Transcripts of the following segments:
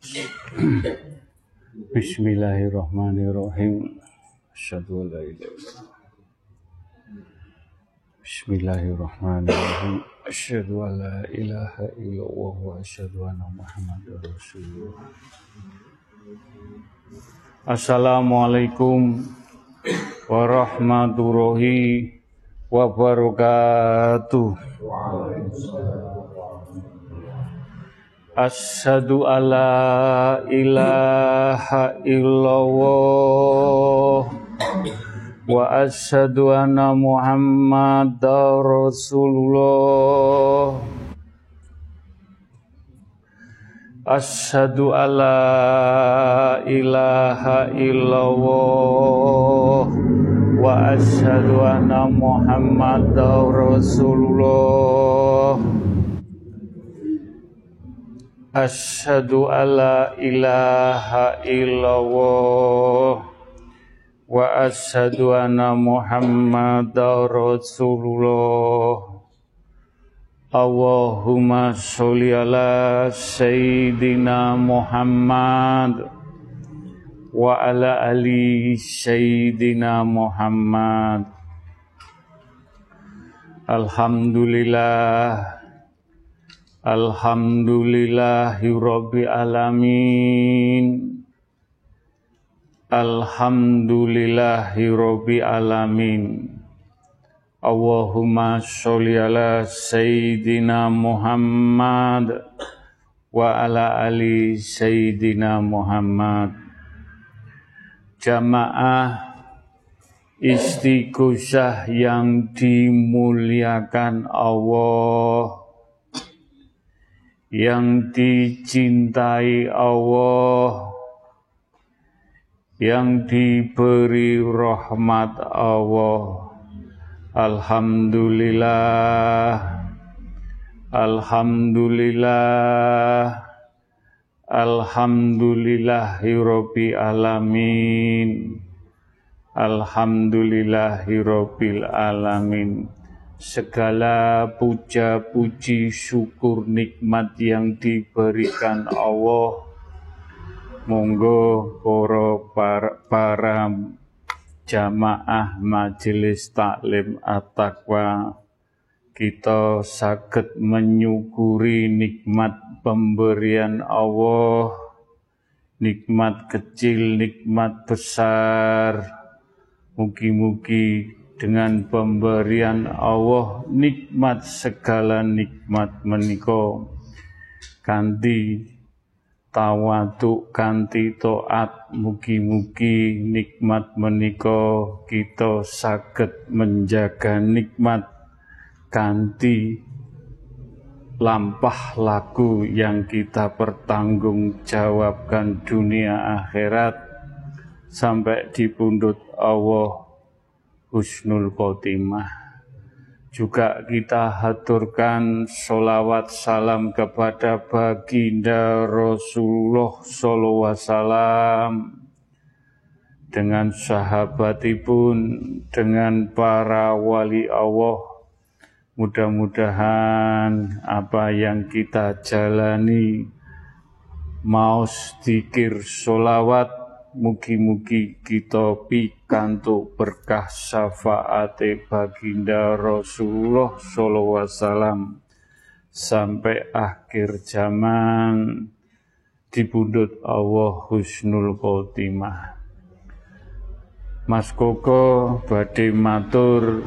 Bismillahirrahmanirrahim. Asyhadu an la ilaha illallah. Bismillahirrahmanirrahim. Asyhadu an la ilaha illallah wa asyhadu anna Muhammadar Rasulullah. Assalamualaikum warahmatullahi wabarakatuh. Asyhadu alla ilaha illallah wa asyhadu anna Muhammadar Rasulullah. Asyhadu alla ilaha illallah wa asyhadu anna Muhammadar Rasulullah. Asyhadu alla ilaha illallah wa asyhadu anna Muhammadar Rasulullah. Allahumma sholli ala Sayyidina Muhammad wa ala ali Sayyidina Muhammad. Alhamdulillah. Alhamdulillahirabbil alamin. Alhamdulillahirabbil alamin. Allahumma sholli ala Sayyidina Muhammad wa ala ali Sayyidina Muhammad. Jamaah Istighosah yang dimuliakan Allah, yang dicintai Allah, yang diberi rahmat Allah. Alhamdulillah, alhamdulillah, alhamdulillahirabbil alamin, alhamdulillahirabbil alamin. Segala puja puji syukur nikmat yang diberikan Allah, monggo para jamaah majelis taklim at-taqwa, kita saged menyukuri nikmat pemberian Allah, nikmat kecil, nikmat besar. Mugi-mugi dengan pemberian Allah, nikmat segala nikmat menika kanthi tawadhu, kanthi taat, mugi-mugi nikmat menika kita saged menjaga nikmat kanthi lampah laku yang kita pertanggungjawabkan dunia akhirat sampai di pundut Allah husnul khotimah. Juga kita haturkan sholawat salam kepada baginda Rasulullah sallallahu alaihi wasallam, dengan sahabatipun, dengan para wali Allah. Mudah-mudahan apa yang kita jalani, maos dzikir sholawat, mugi-mugi kita pikantuk berkah syafaate baginda Rasulullah sallallahu alaihi wasallam sampai akhir zaman di pundut Allah husnul khotimah. Mas Koko badhe matur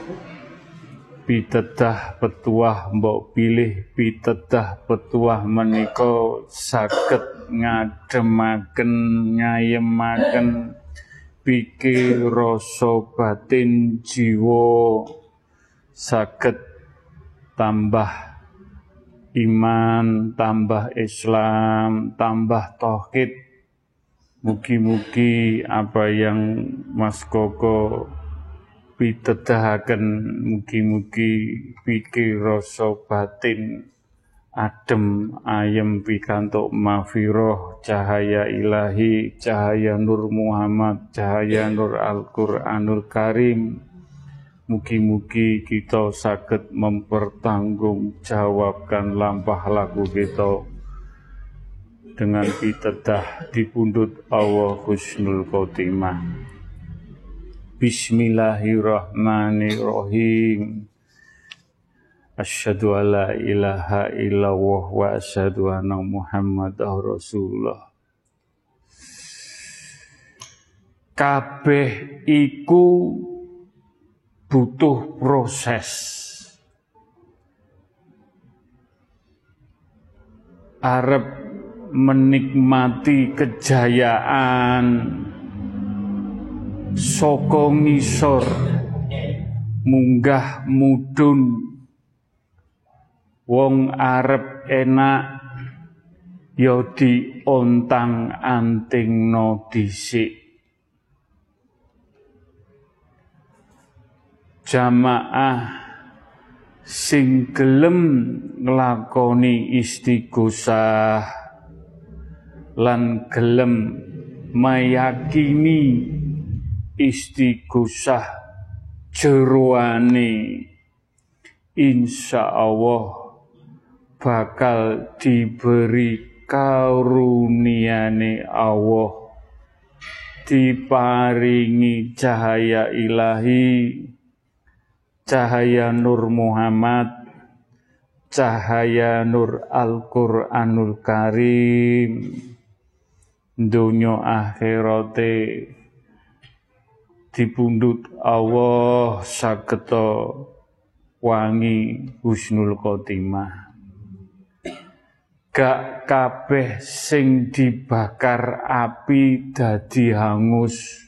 pitedah petuah mbok pilih, pitedah petuah menika saged ngademaken, nyayemaken pikir, rasa batin, jiwa, saged tambah iman, tambah Islam, tambah tauhid. Mugi-mugi apa yang Mas Koko pitedahaken, mugi-mugi pikir, rasa batin adem ayem pikantuk mafiroh, cahaya ilahi, cahaya nur Muhammad, cahaya nur Al-Qur'anul Karim. Mugi-mugi kita saged mempertanggungjawabkan lampah laku kita dengan pitedah dipundhut Allah husnul khotimah. Bismillahirrahmanirrahim. Asyhadu alla ilaha illallah wa asyhadu anna Muhammadar Rasulullah. Kabeh iku butuh proses. Arep menikmati kejayaan saka ngisor munggah mudhun, wong arep enak ya diontang-antingno dhisik. Jamaah sing gelem nglakoni istighosah lan gelem meyakini istighosah jeroane insyaallah bakal diberi karuniane Allah, diparingi cahaya ilahi, cahaya Nur Muhammad, cahaya Nur Al-Qur'anul Karim, dunya akhirate dipundhut Allah sageta wangi husnul khotimah. Gak kabeh sing dibakar api dadi hangus,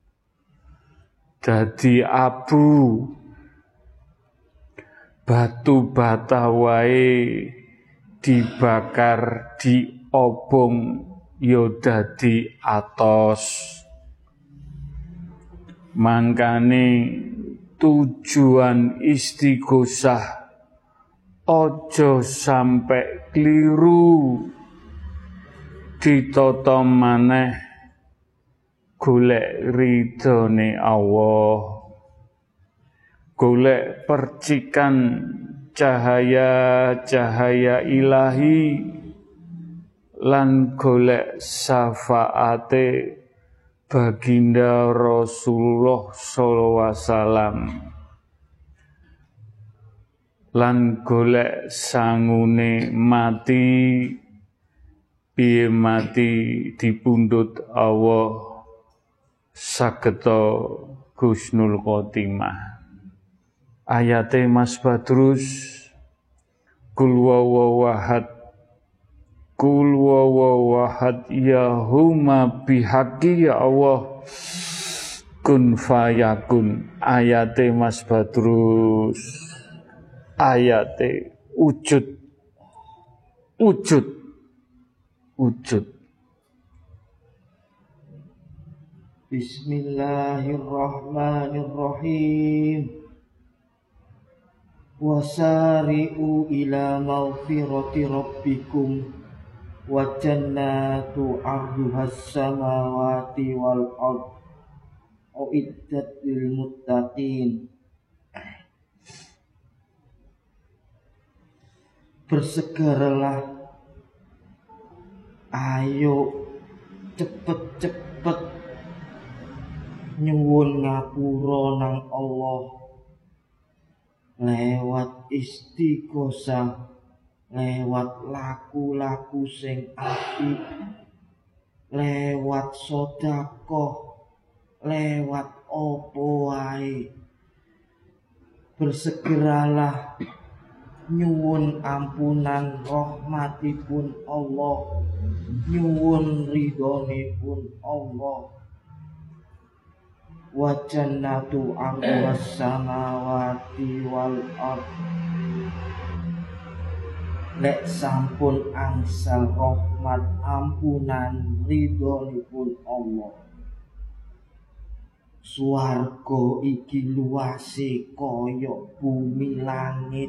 dadi abu. Batu bata wae dibakar diobong ya dadi atos. Mangkane tujuan istighosah ojo sampai keliru, ditata maneh golek ridhone Allah, golek percikan cahaya-cahaya ilahi lan golek syafaate baginda Rasulullah sallallahu alaihi wasallam lan golek sangune mati piye mati dipundhut Allah sageta husnul khotimah. Ayate Mas Badrus, kul wawahad, kul wawahad ya huma bihaqi ya Allah kun fayakun. Ayate Mas Badrus, ayate wujud. Bismillahirrahmanirrahim. Wasari'u ila maghfirati rabbikum wa jannatu 'arduhas samawati wal ardh uiddat lil muttaqin. Bersegeralah, ayo cepet-cepet nyuwun ngapura nang Allah lewat istighosah, lewat laku-laku sing apik, lewat sedekah, lewat opo wae. Bersegeralah nyuwun ampunan rahmatipun Allah, nyuwun ridhonipun Allah. Wa jannatu 'arduhas samawati wal ardh. Lek sampun angsal rahmat ampunan ridhonipun Allah, swarga iki luase kaya bumi langit.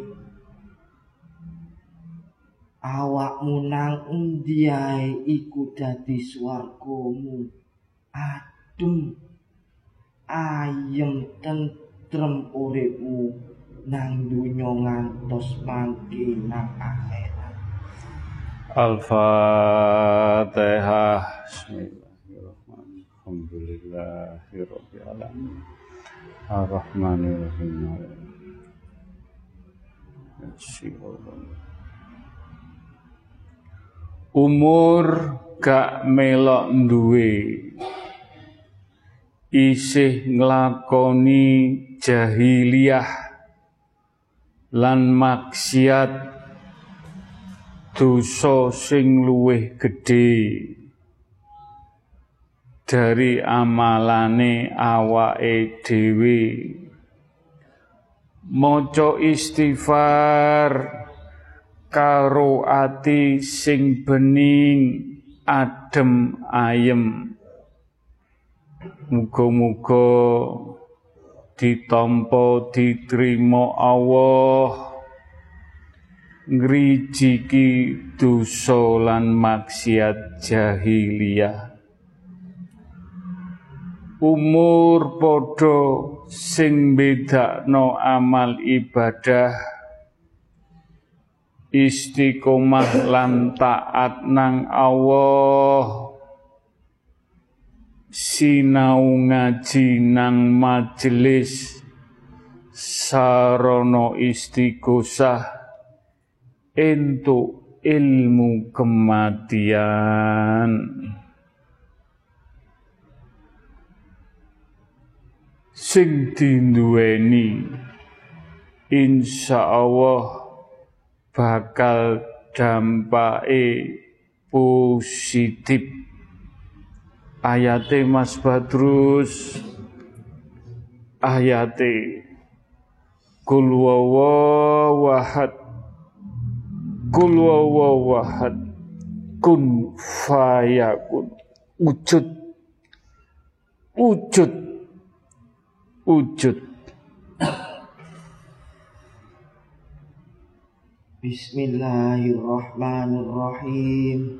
Awakmu nang endi ae iku dadi swargamu, adem ayem tentrem uripmu nang dunya ngantos mangke nang akhirat. Al-Fatihah. Bismillahirrahmanirrahim. Alhamdulillahirabbil alamin. Ar-Rahmanir-Rahim. Umur gak melok duwe, isih nglakoni jahiliyah lan maksiat, dosa sing luwih gedhe dari amalane awake dhewe. Maca istighfar karo ati sing bening adem ayem, muga-muga ditampa diterima Allah ngrijiki dosa lan maksiat jahiliyah. Umur padha sing bedakno amal ibadah, istiqomah lan taat nang Allah, sinau ngaji nang majelis sarana istighosah entuk ilmu kematian. Sing dinduweni insyaallah bakal dampake positif. Ayate Mas Badrus, ayate Qul huwallahu ahad, Qul huwallahu ahad, kun fayakun, wujud, wujud, wujud. Bismillahirrahmanirrahim.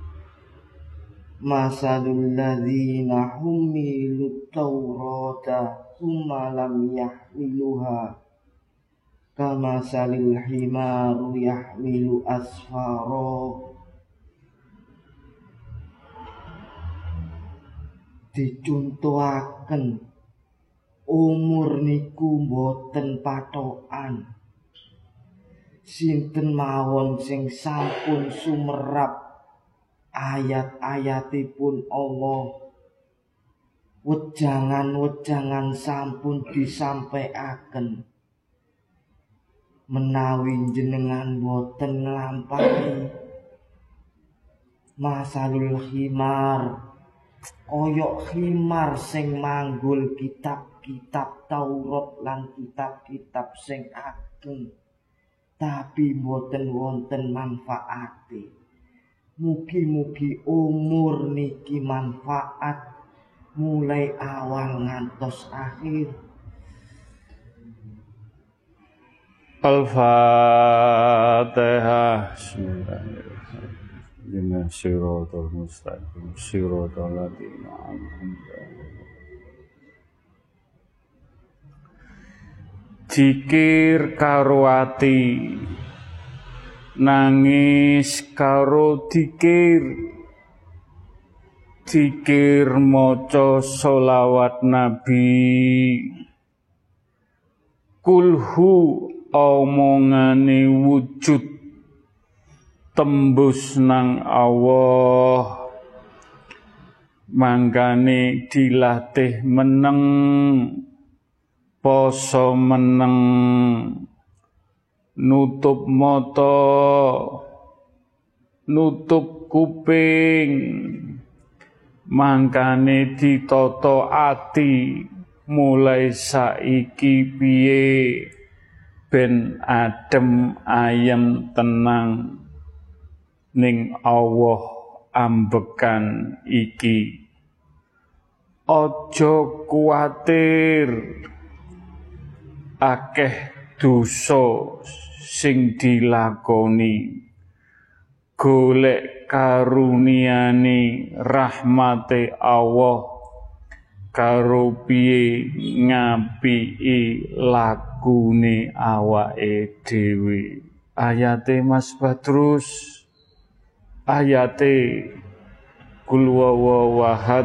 Masalul ladzina humilut taurata tsumma lam yahmiluha kamasalil himaru yahmilu asfara. Dicontohaken umur niku boten patokan. Sinten mawon sing sampun sumerap ayat-ayatipun Allah, wejangan-wejangan sampun disampaiaken, menawi jenengan boten nglampahi masalul himar, koyok himar sing manggul kitab-kitab Taurat lan kitab-kitab sing ageng, tapi boten wonten manfaate. Mugi-mugi umur niki manfaat mulai awal ngantos akhir. Al-Fatihah. Bismillahirrahmanirrahim. Shiratal mustaqim, shiratal ladzina an'amta alaihim. Zikir karo ati, nangis karo dikir, zikir maca sholawat Nabi, kulhu omongane wujud tembus nang Allah, mangkane dilatih meneng, poso meneng, nutup mata, nutup kuping, mangkane ditata ati mulai saiki piye ben adem ayem tenang ning Allah ambekan iki. Aja kuwatir akeh dosa sing dilakoni, golek karuniane rahmate Allah karo piye ngapiki awake dhewe. Ayate Mas Badrus, ayate kul wawahad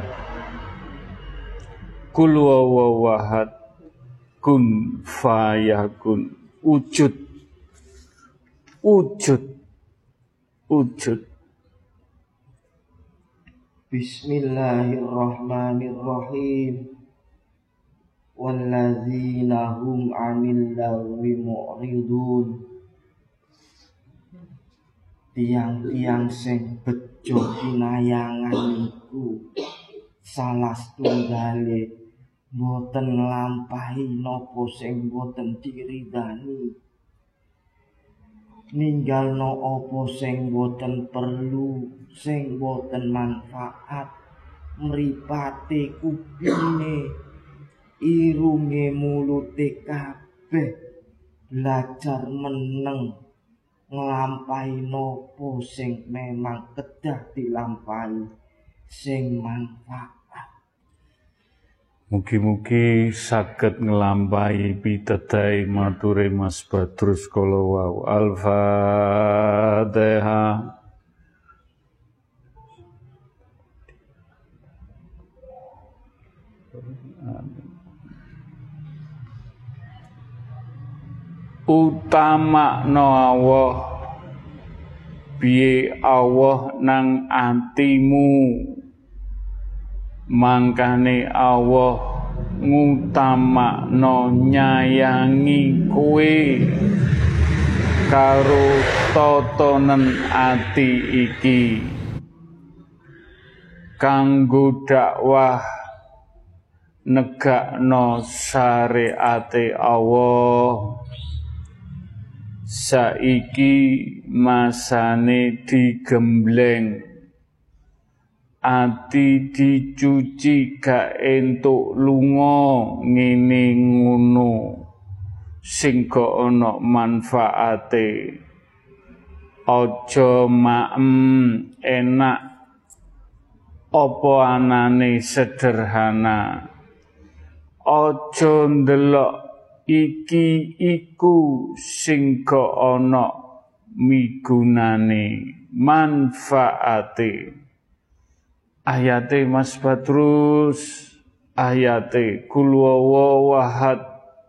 kun fayakun wujud Bismillahirrahmanirrahim. Walladzina hum 'anil lagwi mu'ridun. Tiang-tiang sing bejo pinayangan niku salah tunggale boten nglampahi napa sing boten diridani, ninggalno apa sing boten perlu, sing boten manfaat, mripate kupinge, irunge, mulute kabeh belajar meneng nglampahi napa sing memang kedah dilampahi, sing manfaat. Mugi-mugi saged nglampahi pitedahe mature Mas Badrus kala wau. Al-Fatihah. Utamakno Allah, piye Allah nang atimu, mangkane Allah ngutamakno nyayangi kowe karo tatanen ati iki kanggo dakwah negakno syariate Allah. Saiki masane digembleng, ati dicuci gak entuk lunga ngene ngono sing gak ana manfaate. Aja maem enak apa anane sederhana, aja ndelok iki iku sing gak ana migunane manfaate. Ayate Mas Badrus, ayate kul wawahad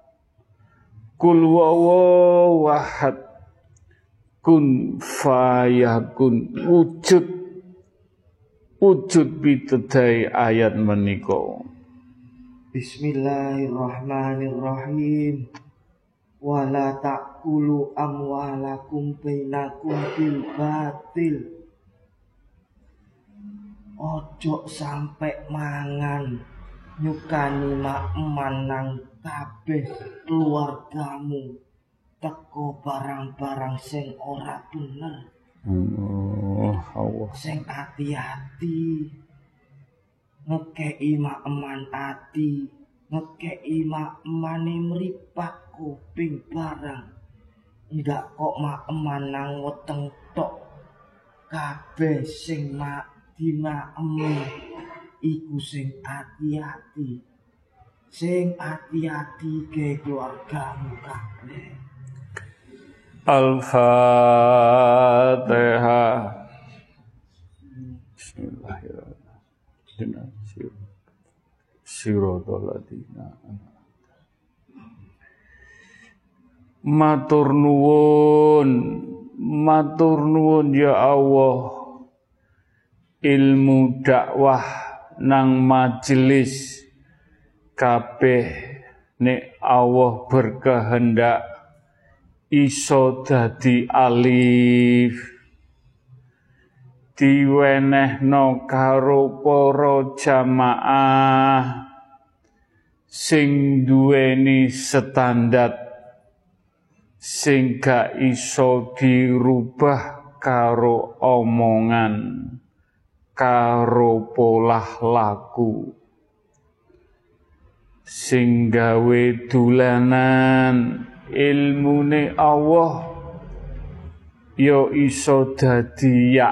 kun fayakun wujud pitedahe ayat menika. Bismillahirrahmanirrahim. Wala ta'kulu amwalakum bainakum bil batil. Ojo sampai mangan nyukani makman nang kabeh keluargamu teko barang-barang sing ora bener. Allah. Sing hati-hati ngekei makman ati, ngekei makmane mripat kuping barang, ndak kok makman nang weteng tok. Kabeh sing dimakemi iku sing hati-hati, sing hati-hati ke keluargamu kabeh. Al-Fatihah. Bismillahirrahmanirrahim. Siratal ladzina matur nuwun ya Allah, ilmu dakwah nang majelis kabeh nek Allah berkehendak iso dadi alif, diwenehno karo para jamaah sing duweni standar, sing gak iso dirubah karo omongan, karo polah laku, sing gawe dolanan ilmune Allah yo iso dadi yak,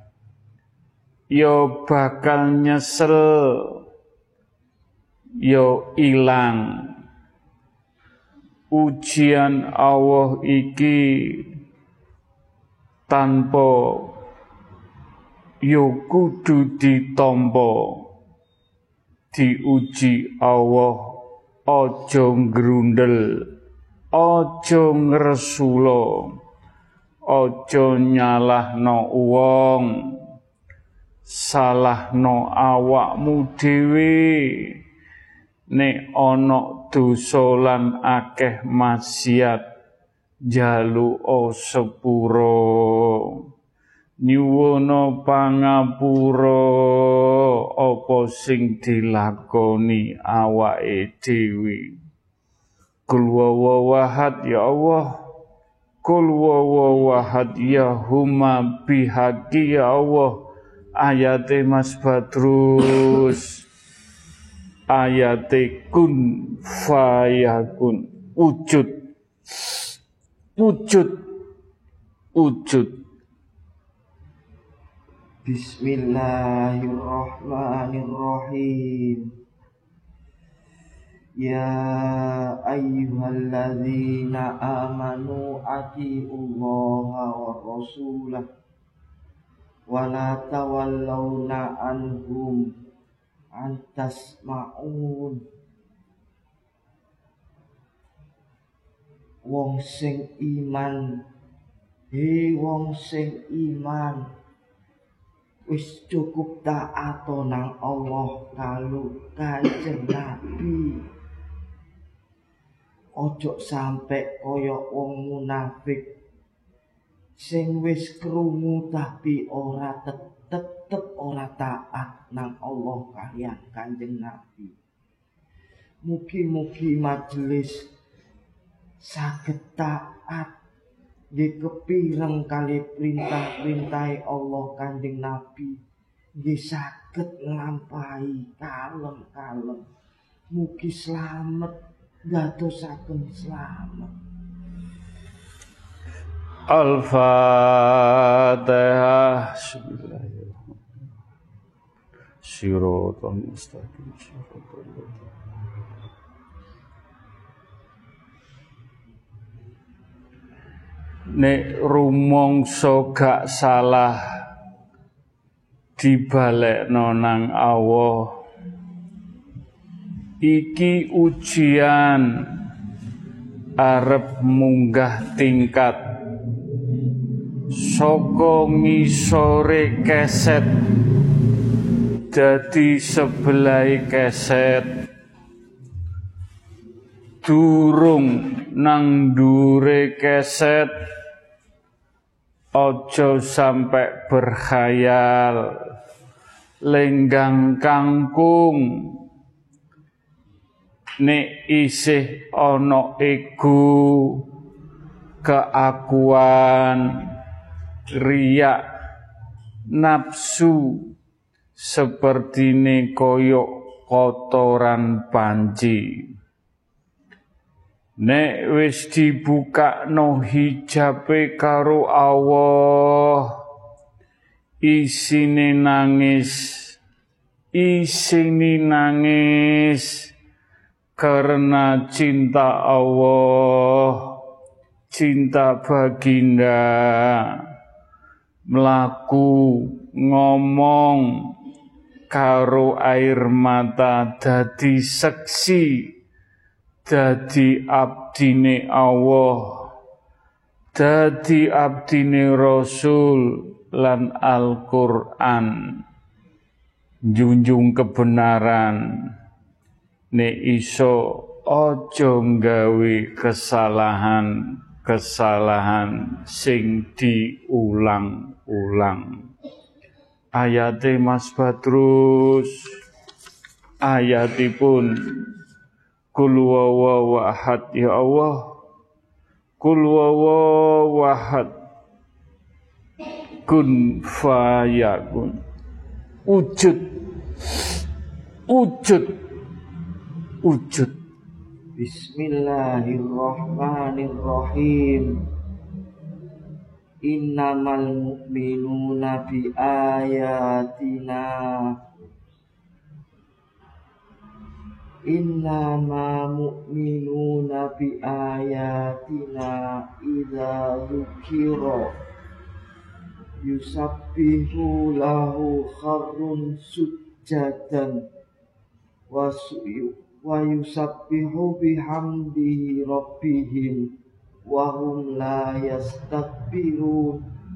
yo bakal nyesel, yo ilang. Ujian Allah iki tanpa yo kudu ditampa diuji Allah, aja ngrundel, aja ngresula, aja nyalahno wong, salahno awakmu dhewe. Nek ana dosa lan akeh maksiat, njaluka sepura, nyuwuna pangapura apa sing dilakoni awake dhewe. Qul huwallahu ya Allah, qul huwallahu ya huma bihaqi ya Allah. Ayate Mas Badrus, ayate kun fayakun, wujud Bismillahirrahmanirrahim. Ya ayyuhalladzina amanu atiullaha wa rasulah wa la tawallawna anhum antasma'un. Wong sing iman, wong sing iman, wis cukup taat nang Allah karo Kanjeng Nabi. Ojo sampe kaya wong munafik sing wis krungu tapi ora tetep ora taat nang Allah kaliyan Kanjeng Nabi. Mugi-mugi majelis saged taat nggih kepireng kali perintah-perintahe Allah Kanjeng Nabi, nggih saged nglampahi kalem-kalem. Mugi slamet, dadosaken slamet. Al-Fatihah. Shiratal mustaqim. Nek rumangsa gak salah dibalekno nang Allah, iki ujian arep munggah tingkat saka ngisore keset dadi sebelai keset, durung nang ndure keset. Ojo sampai berkhayal lenggang kangkung, nek isih ana ego, keakuan, riak, nafsu, sepertine koyok kotoran panci. Nek wis dibukakno hijabe karo Allah, isine nangis karena cinta Allah, cinta baginda, mlaku ngomong karo air mata dadi seksi, dadi abdine Allah, dadi abdine Rasul lan Al-Qur'an, junjung kebenaran. Nek iso aja nggawe kesalahan sing diulang-ulang. Ayate Mas Badrus, ayatipun Qul huwallahu ahad ya Allah, Qul huwallahu ahad, kun fayakun, wujud. Bismillahirrahmanirrahim. Innamal mu'minuna bi ayatina, innama mu'minuna bi ayatina idza dzukira yusabbihu lahu kharrun sujjadan wa yusabbihu bihamdihi rabbihim wa hum la yastakbirun.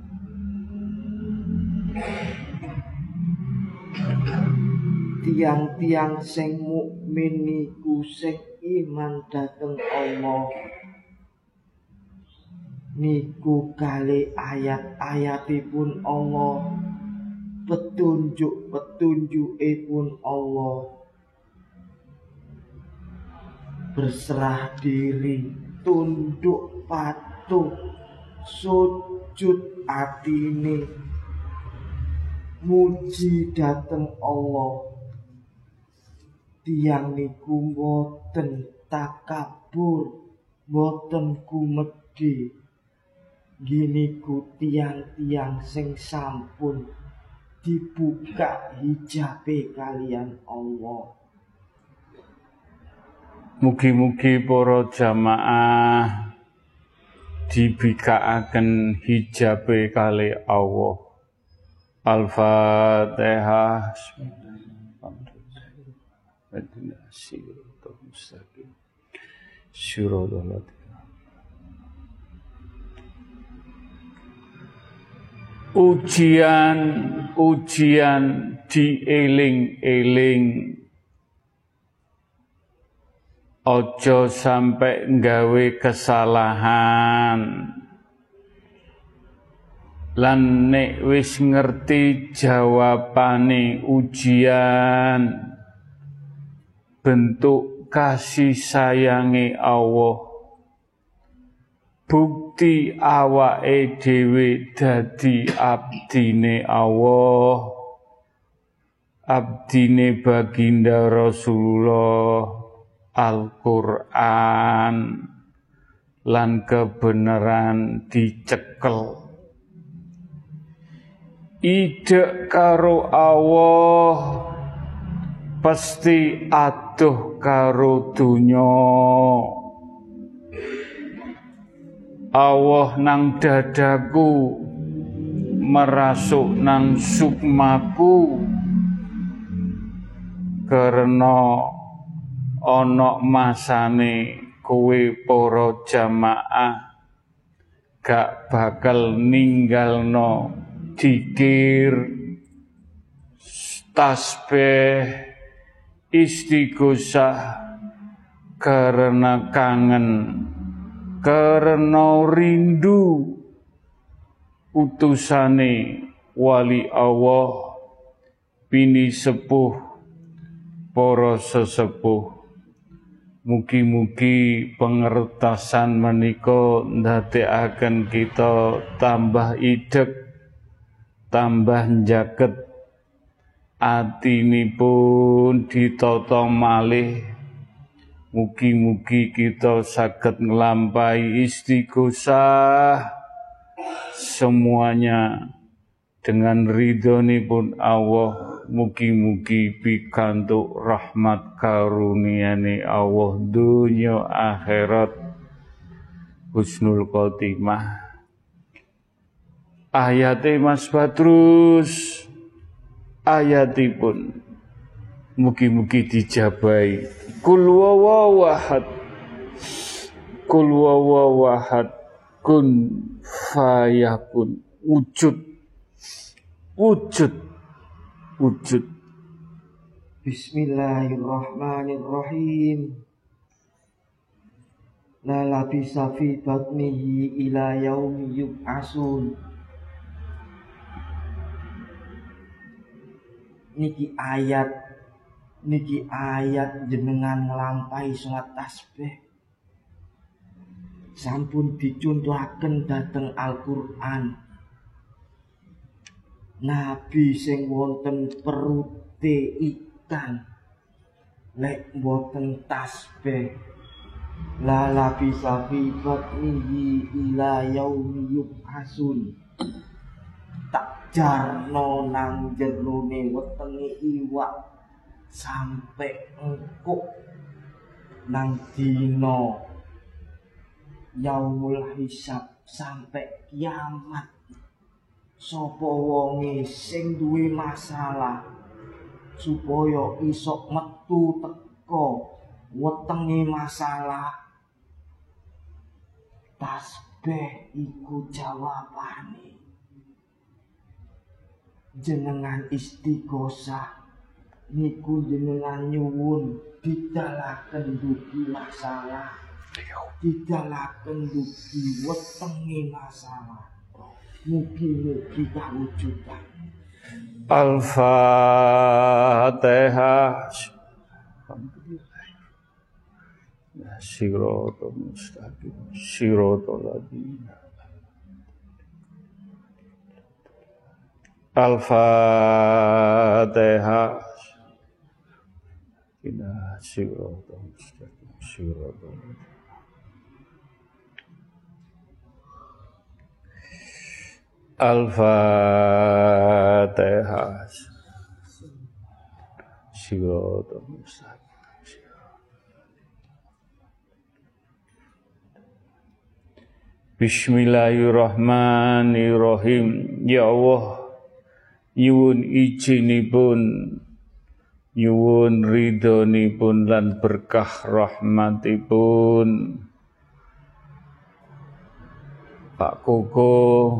Tiang-tiang sing mukmin niku sing iman dhateng Allah niku kali ayat-ayatipun Allah, petunjuk-petunjukipun Allah, berserah diri, tunduk patuh, sujud atine, muji dhateng Allah. Tiang niku mboten takabur, mboten kumedhi. Gini ku tiang-tiang sing sampun dibuka hijabe kalian Allah. Mugi-mugi para jamaah dibikaaken hijabe kali Allah. Al-Fatihah. Ujian dieling-eling, ojo sampai nggawe kesalahan. Lan nek wis ngerti jawabane ujian, bentuk kasih sayange Allah, bukti awake dhewe dadi abdine Allah, abdine baginda Rasulullah, Al-Qur'an, lan kebenaran dicekel. Idek karo Allah pasti adoh karo dunya. Allah nang dadaku, merasuk nang sukmaku, karena ana masane kowe para jamaah gak bakal ninggalno dzikir, tasbih, istighosah karena kangen, karena rindu utusane wali Allah, bini sepuh, para sesepuh. Mugi-mugi pengertasan menika ndadekaken kita tambah idek, tambah njaket atinipun ditata malih. Mugi-mugi kita saged nglampahi istighosah semuanya dengan ridhonipun Allah. Mugi-mugi pikantuk rahmat karuniane Allah dunya akhirat, husnul khotimah. Ayate Mas Badrus, ayatipun mugi-mugi dijabahi. Kul wawahad, kul wawahad, kun fayakun, wujud, wujud, wujud. Bismillahirrahmanirrahim. La labisa fi batnihi ila yaumi yub'asun. Niki ayat jenengan nglampahi salat tasbih sampun dicontohaken dhateng Al-Qur'an. Nabi sing wonten perute ikan lek mboten tasbih, la labisa fi batnihi ila yaumi yub'asun. Tak jarno nang jerone wetenge iwak sampai engkuk nang dina yaumul hisab, sampai kiamat. sapa wonge sing duwe masalah supaya iso metu teko wetenge masalah, tasbih iku jawabane. Jenengan istighosah niku jenengan nyuwun didalaken dugi masalah, didalaken dugi wetenge masalah. Mugi-mugi kawujudan. Al-Fatihah. Siratal mustaqim, siratal ladzina. Al-Fatihah. Siratal mustaqim, siratal ladzina. Al-Fatihah. Siratal mustaqim. Bismillahirrahmanirrahim. Ya Allah, nyuwun ijinipun, nyuwun ridhonipun lan berkah rahmatipun Pak Koko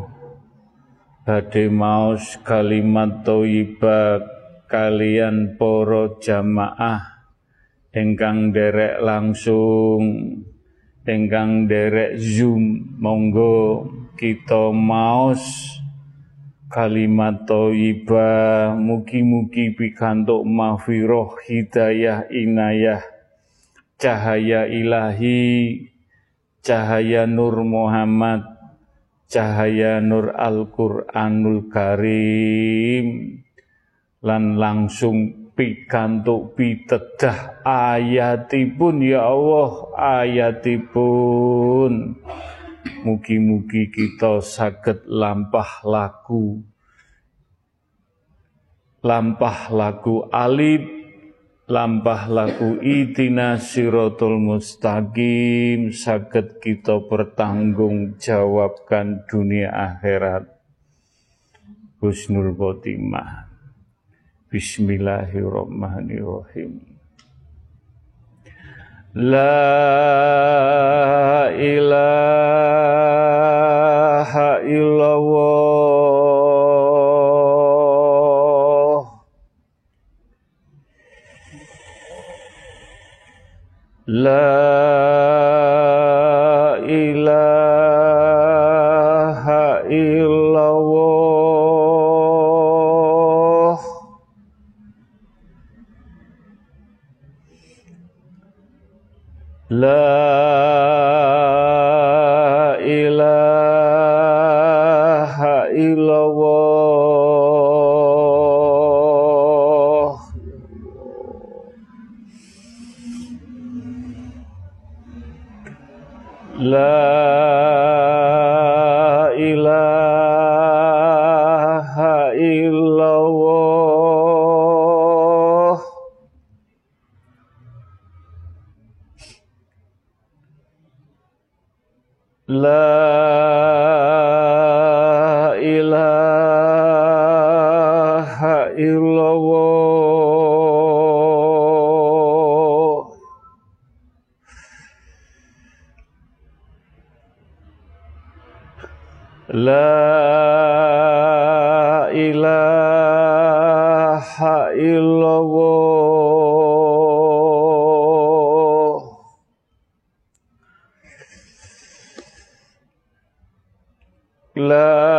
badhe maos kalimat thayyibah kalian para jamaah ingkang derek langsung, ingkang derek Zoom, monggo kita maos kalimat thayyibah, mugi-mugi pikantuk mahfirah, hidayah, inayah, cahaya ilahi, cahaya Nur Muhammad, cahaya Nur Al-Qur'anul Karim, lan langsung pikantuk pitedah ayatipun ya Allah, ayatipun. Mugi-mugi kita saged lampah laku alif, lampah laku ihdina siratal mustaqim, saged kita pertanggungjawabkan dunia akhirat. Husnul khotimah. Bismillahirrahmanirrahim. La ilaha illallah. La ilaha illallah. La ilaha illallah. La ilaha illallah. La ilaha illallah. La ilaha illallah. La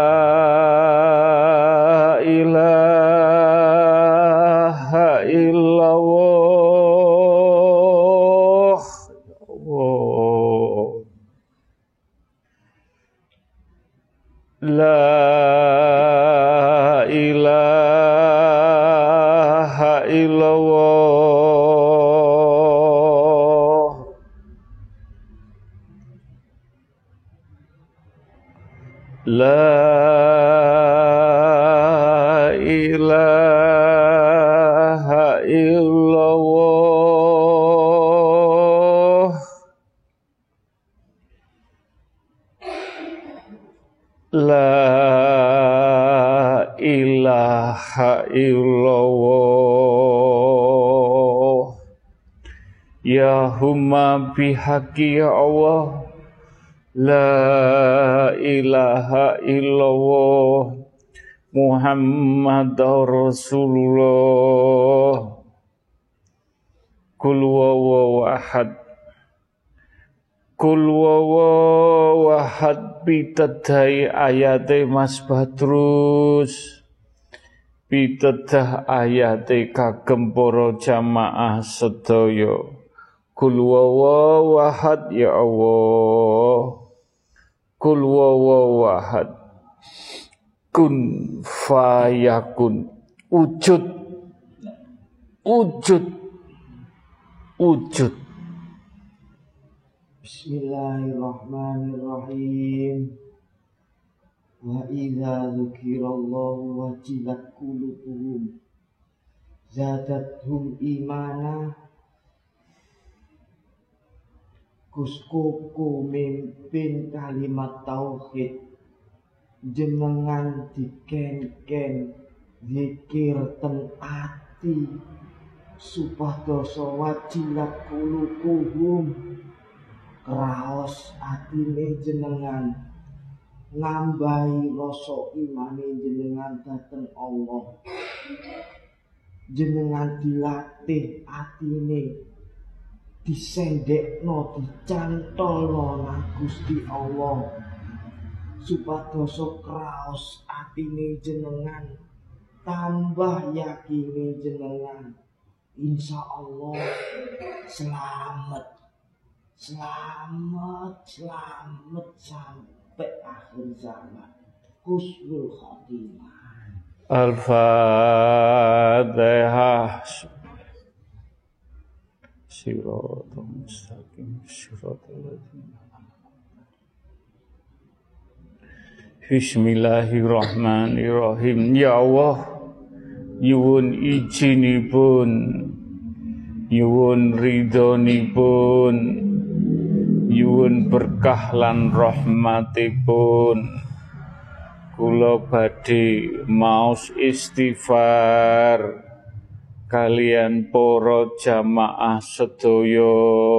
ilaha illallah. Oh. La ilaha illallah. La ilaha illallah. La ilaha illallah. Ya humma bihaqi ya Allah, la ilaha illallah, Muhammadur Rasulullah. Kul huwallahu ahad, kul huwallahu ahad, pitedai ayate Mas Badrus, pitedah ayate kagem para jamaah sedaya. Kul huwallahu ahad ya Allah, kul huwallahu ahad, kun fayakun, wujud, wujud, wujud. Bismillahirrahmanirrahim. Wa idza dzukirallahu wajilat qulubuhum zadatuhum imana. Kuskuku mimpin kalimat tauhid, jenengan diken-ken zikir ten ati, supadoso wajilat qulubuhum, kraos atine jenengan, nambahi rasa imane jenengan dhateng Allah. Jenengan dilatih atine, disendekno, dicantolno nang Gusti Allah, supadoso kraos atine jenengan, tambah yakine jenengan, insya Allah selamat, selamat, selamat sampai akhir zaman, husnul khotimah. Al-Fatihah. Siratal mustaqim, siratal ladzina. Bismillahirrahmanirrahim. Ya Allah, nyuwun ijinipun, nyuwun ridhonipun, nyuwun berkah lan rahmatipun. Kula badhe maos istighfar kalian para jamaah sedaya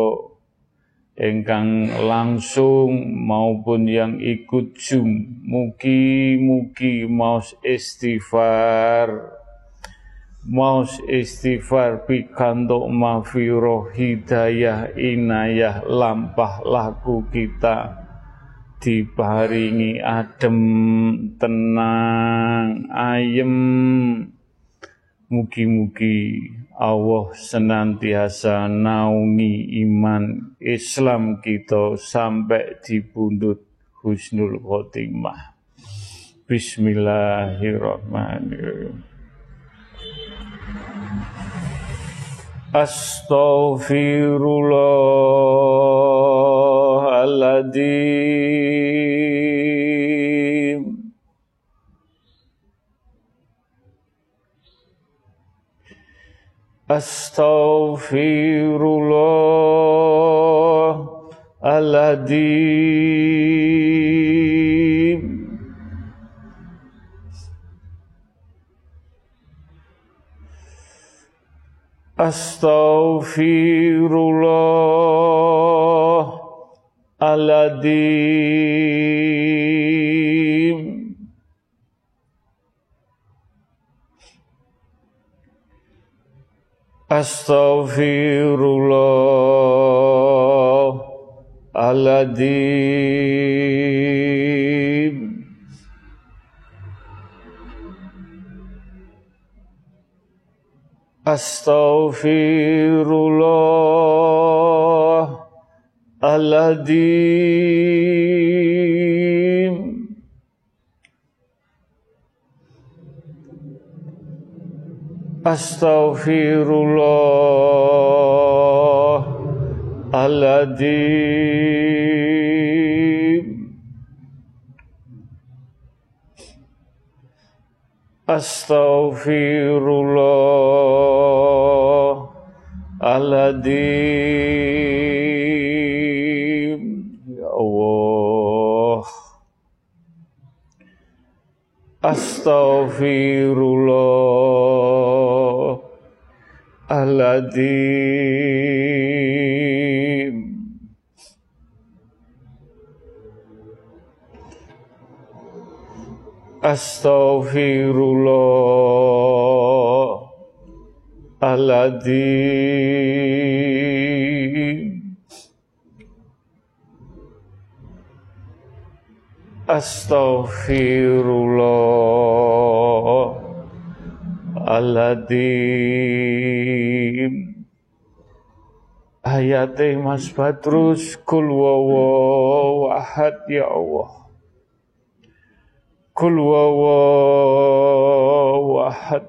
ingkang langsung maupun yang ikut Zoom, mugi-mugi maos istighfar pikantuk maghfirah, hidayah, inayah, lampah laku kita, diparingi adem, tenang, ayem. Mugi-mugi Allah senantiasa naungi iman Islam kita sampai di pundut husnul khotimah. Bismillahirrahmanirrahim. Astaghfirullahaladzim. Astaghfirullahaladzim. Astaghfirullahaladzim. Astaghfirullahaladzim. Astaghfirullahaladzim. Astaghfirullahaladzim. Astaghfirullahaladzim. Ya Allah. Astaghfirullahaladzim. Astaghfirullahaladzim. Astaghfirullahaladzim. Ayate Mas Badrus, kul wawaw ahad ya Allah. Kul wawaw ahad.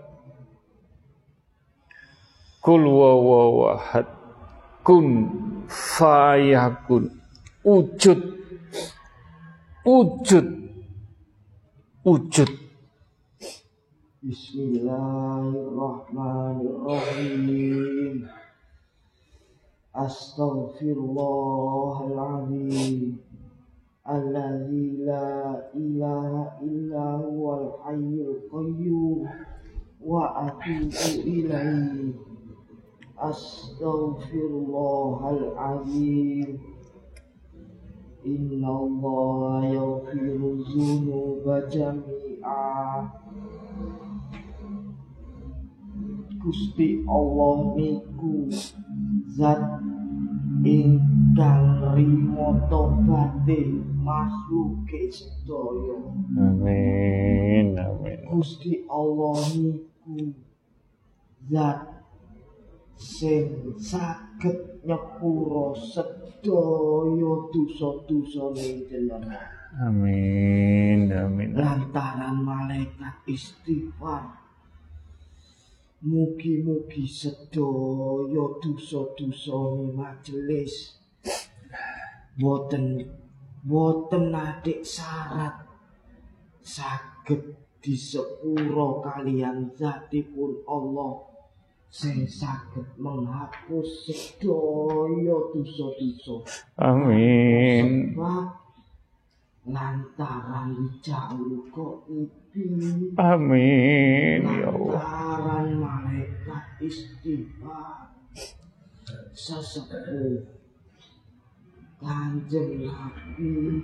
Kul wawaw ahad. Kun fayakun. Wujud. Wujud. Wujud. Bismillahirrahmanirrahim. Astaghfirullahaladzim. Alladzi la ilaha illa huwal hayyul qayyum wa atubu ilaihi. Astaghfirullahaladzim. Inna Allah yaghfiru dzunuba jami'a. Gusti Allah niku zat ingkang rimo tobaté makhluke sedaya. Amin, amin. Gusti Allah niku zat sing saged nyepuro sedaya dosa-dosane jenengan. Amin, amin. Lantaran malaikat istighfar, mugi-mugi sedaya dosa-dosane majelis boten adik syarat saged disepuro kalian zatipun Allah sing saged menghapus sedaya dosa-dosa. Amin. Sebab lantaran jauh kok ipi. Amin ya Allah. Lantaran malaikat istighfar sesepuh Kanjeng Nabi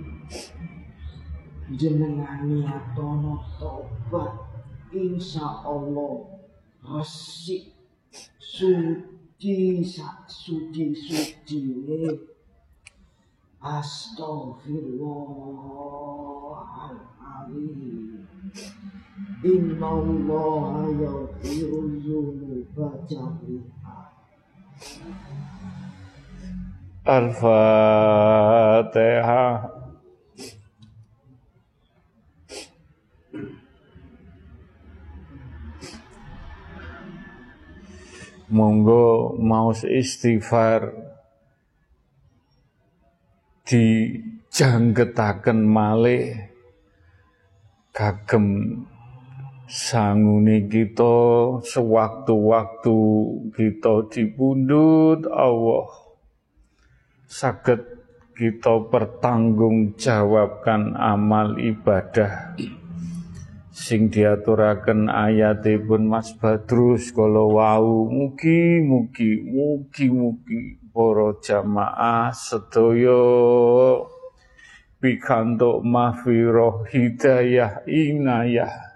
jenengan niatono tobat, insya Allah resik suci ini. Astaghfirullahaladzim. Inna Allah yaghfiru dzunuba jami'a. Al-Fatihah. Monggo maos istighfar dijanggetaken malih kagem sangune kita sewaktu-waktu kita dipundhut Allah saged kita pertanggungjawabkan amal ibadah sing diaturaken ayatipun Mas Badrus kala wau. Mugi-mugi para jamaah sedaya pikantuk mahfirah hidayah inayah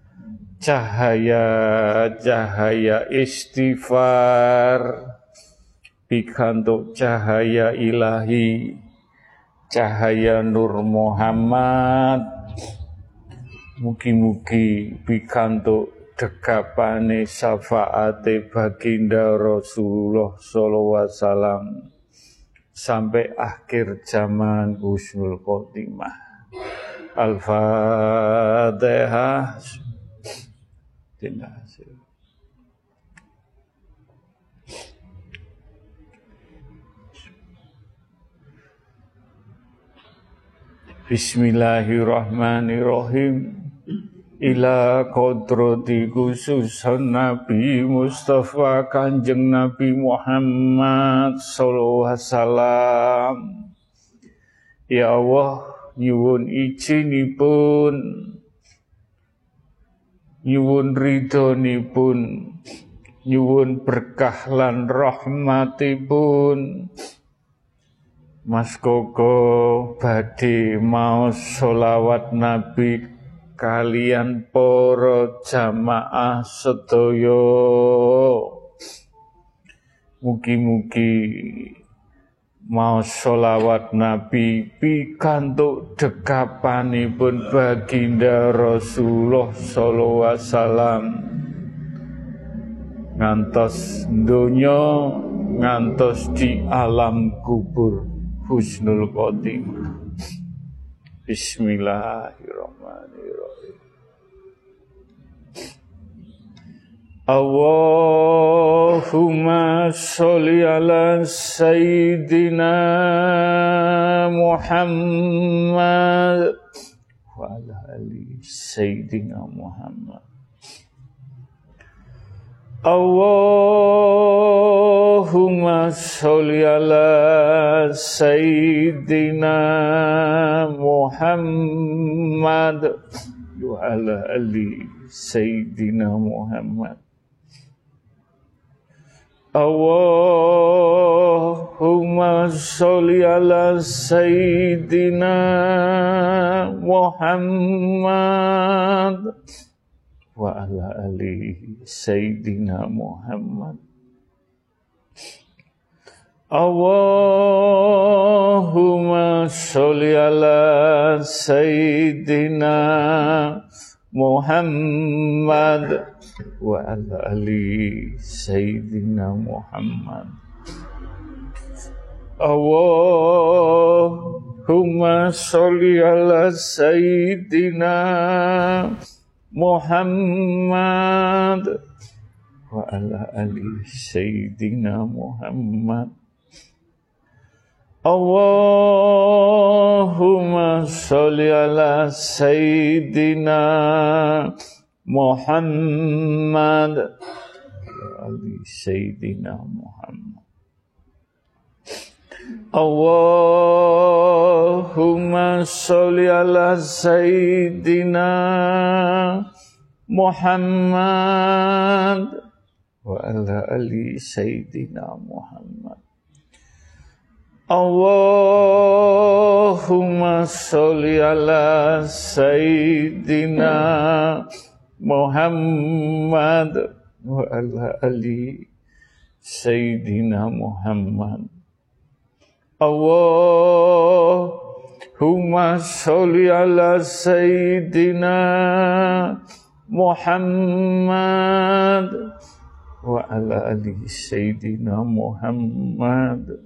cahaya istighfar pikantuk cahaya ilahi cahaya Nur Muhammad. Mugi-mugi pikantuk dekapane syafaate baginda Rasulullah sallallahu alaihi wasallam sampai akhir zaman husnul khotimah. Al-Fatihah. Bismillahirrahmanirrahim. Ila kodrati khususan Nabi Mustafa Kanjeng Nabi Muhammad sallallahu alaihi wasallam. Ya Allah, nyuwun izinipun nyuwun ridhonipun, nyuwun berkah lan rahmatipun. Mas Koko badhe maos sholawat Nabi kalian para jamaah sedaya. Mugi-mugi maos sholawat Nabi pikantuk dekapanipun baginda Rasulullah sallallahu alaihi wasallam ngantos donya, ngantos di alam kubur. Husnul khotimah. Bismillahirrahmanirrahim. Allahumma sholli ala Sayyidina Muhammad wa ala ali Sayyidina Muhammad. Allahumma sholli ala Sayyidina Muhammad wa ala ali Sayyidina Muhammad. Allahumma sholli ala Sayyidina Muhammad wa ala ali Sayyidina Muhammad. Allahumma sholli ala Sayyidina Muhammad wa ala ali Sayyidina Muhammad. Allahumma sholli ala Sayyidina Muhammad wa ala ali Sayyidina Muhammad. Allahumma sholli ala Sayyidina Muhammad wa ali Sayyidina Muhammad. Allahumma sholli ala Sayyidina Muhammad wa ala ali Sayyidina Muhammad. Allahumma sholli ala Sayyidina Muhammad wa ala ali Sayyidina Muhammad. Allahumma sholli ala Sayyidina Muhammad wa ala ali Sayyidina Muhammad.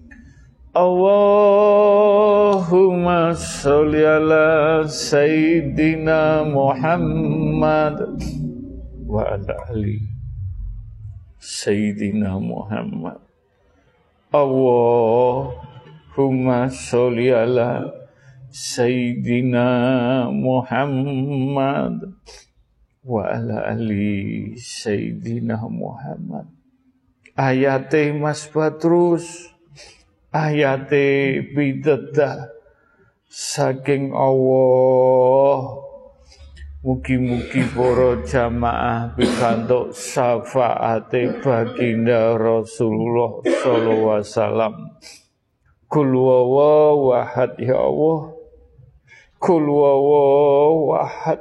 Allahumma sholli ala Sayyidina Muhammad wa ala ali Sayyidina Muhammad. Allahumma sholli ala Sayyidina Muhammad wa ala ali Sayyidina Muhammad. Ayate Mas Badrus, ayate pitedah saking Allah. Mugi-mugi para jamaah pikantuk syafaate baginda Rasulullah sallallahu alaihi wasallam. Kul huwallahu ahad ya Allah. Kul huwallahu ahad.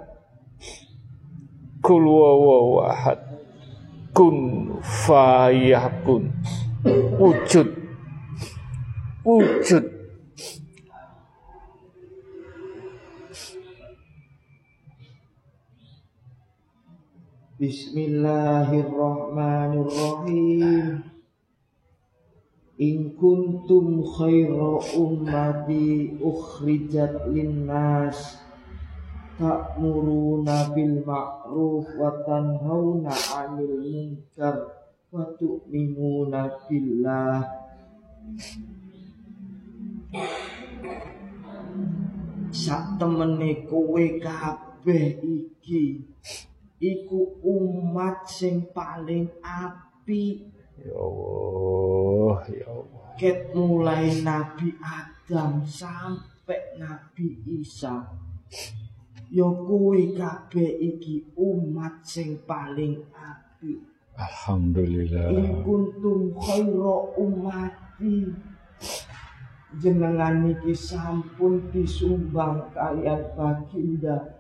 Kul huwallahu ahad. Kun fayakun. Wujud. Wujud. Bismillahirrahmanirrahim. In kuntum khaira ummati ukhrijat linnas ta'muruna bil ma'ruf wa tanhauna 'anil munkar wa tu'minuna billah. Sak temene kowe kabeh iki iku umat sing paling apik. Ya Allah, ya Allah. Ket mulai Nabi Adam sampai Nabi Isa ya kuwi kabeh iki umat sing paling apik. Alhamdulillah. In kuntum khaira ummati, jenengan niki sampun disumbang kalian baginda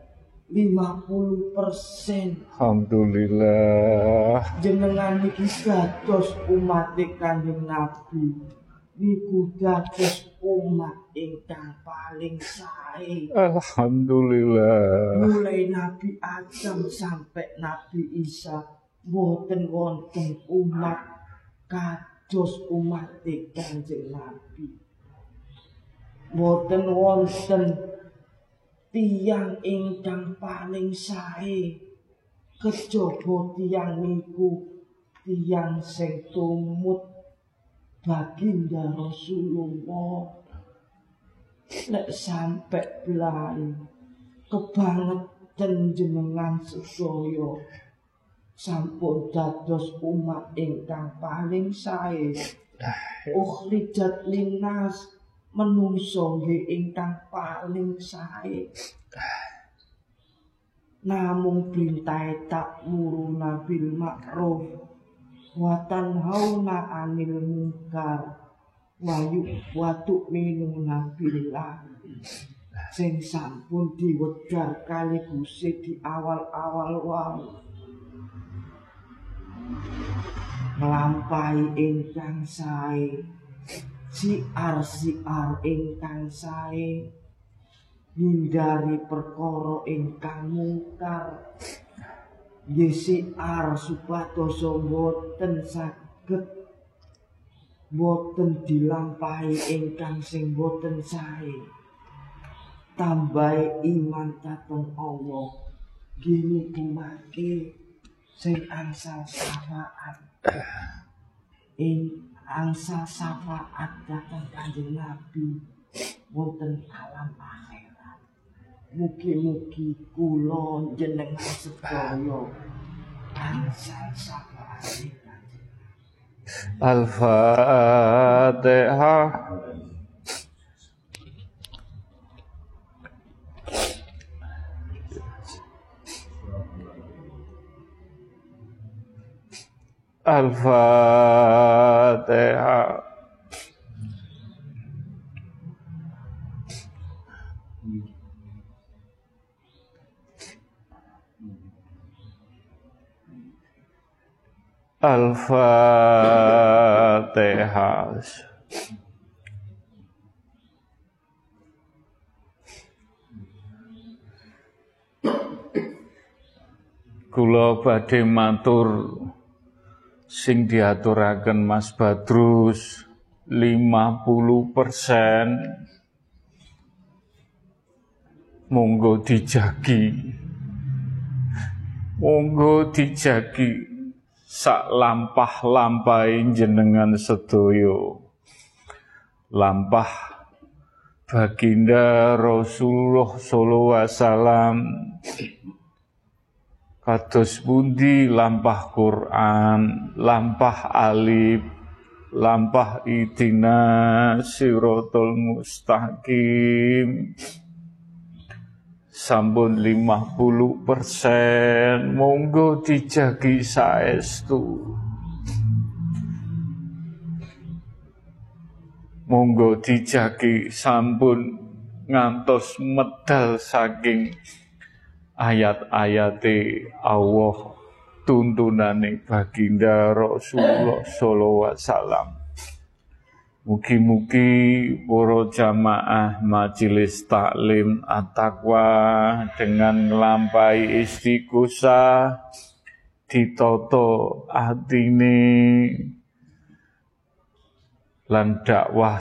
50%. Alhamdulillah. Jenengan niki dados umat Kanjeng Nabi, niku dados umat ingkang paling sae. Alhamdulillah. Mulai Nabi Adam sampai Nabi Isa boten wonten umat kados umat Kanjeng Nabi. Boten wonten tiyang ingkang paling sae kejaba tiyang niku tiyang sing tumut baginda Rasulullah. Lek sampe belai kebangetan jenengan sedaya sampun dados umat ingkang paling sae. Ukhrijat linnas, menungso nggih ingkang paling sae. Namung perintah ta'muruna bil ma'ruf wa tanhauna 'anil munkar wa tu'minuna billah. Sing sampun diwedhar kali Gusti di awal-awal wae. Nglampahi ingkang sae, siar-siar ingkang sae, hindari perkara ingkang mungkar. Siar supados boten saged, boten dilampahi ingkang sing boten sae. Tambahi iman dhateng Allah, gini kumake sing angsal syafaat. Angsal syafaat dhateng Kanjeng Nabi wonten alam akhirat. Mugi-mugi kula jenengan sedaya angsal syafaat Kanjeng Nabi. Al-Fatihah. Al-Fatihah. Al-Fatihah. Kula badhe matur sing diaturaken Mas Badrus 50%. Monggo dijagi. Monggo dijagi sak lampah-lampahe jenengan sedaya. Lampah baginda Rasulullah sallallahu alaihi wasallam. Kados pundi lampah Quran, lampah alif, lampah idina siratal mustaqim. Sampun 50%, monggo dijagi saestu. Monggo dijagi sampun ngantos medal saking ayat-ayate Allah, tuntunane baginda Rasulullah sallallahu alaihi wasallam. Mugi-mugi para jamaah majelis taklim at-taqwa dengan nglampahi istighosah ditata atine lan dakwah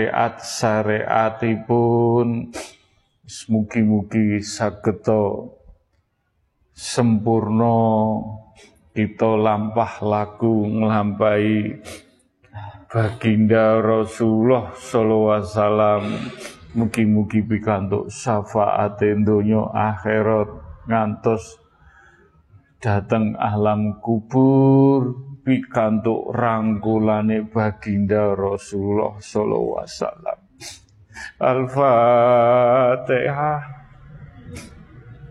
syariat-syariatipun mugi-mugi sageta sempurna kita lampah laku nglampahi baginda Rasulullah sallallahu alaihi wasallam. Mugi-mugi pikantuk syafaat donya akhirat ngantos dateng alam kubur, pikantuk rangkulane baginda Rasulullah sallallahu alaihi wasallam. Al-Fatihah.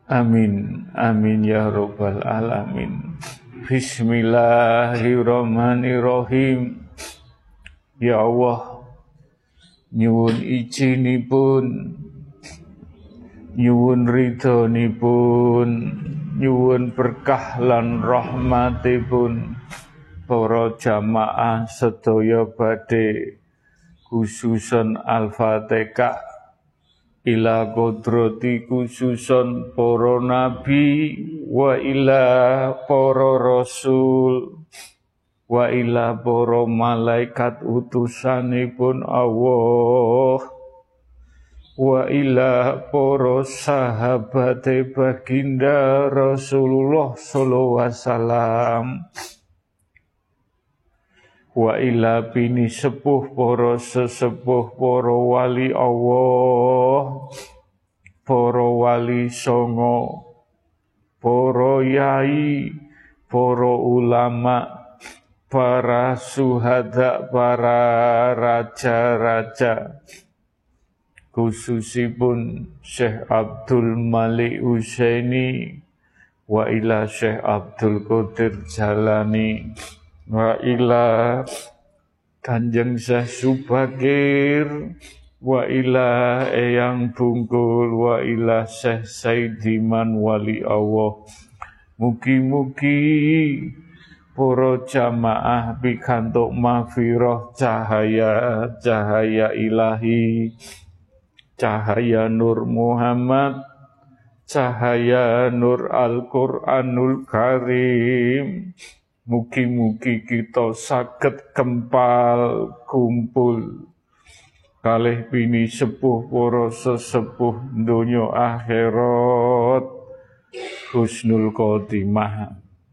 Amin, amin ya rabbal alamin. Bismillahirrahmanirrahim. Ya Allah, nyuwun izinipun, nyuwun ridhonipun, nyuwun berkah lan rahmatipun para jamaah sedaya badhe khususon Al-Fatihah ila kodrati khususon para nabi wa ila para rasul wa ila para malaikat utusanipun Allah wa ila para sahabate baginda Rasulullah sallallahu alaihi wasallam wa ila bini sepuh para sesepuh para wali Allah, para wali songo, para yai, para ulama, para syuhada, para raja-raja, khususipun Syekh Abdul Malik Husaini wa ila Syekh Abdul Qadir Jalani wa ila Kanjeng Syekh Subakir wa ila Eyang Bungkul wa ila Syekh Saidiman wali Allah. Mugi-mugi para jamaah pikantuk maghfirah cahaya ilahi, cahaya Nur Muhammad, cahaya Nur Al-Qur'anul Karim. Mugi-mugi kita saged kempal kumpul kalih bini sepuh para sesepuh donya akhirat husnul khotimah.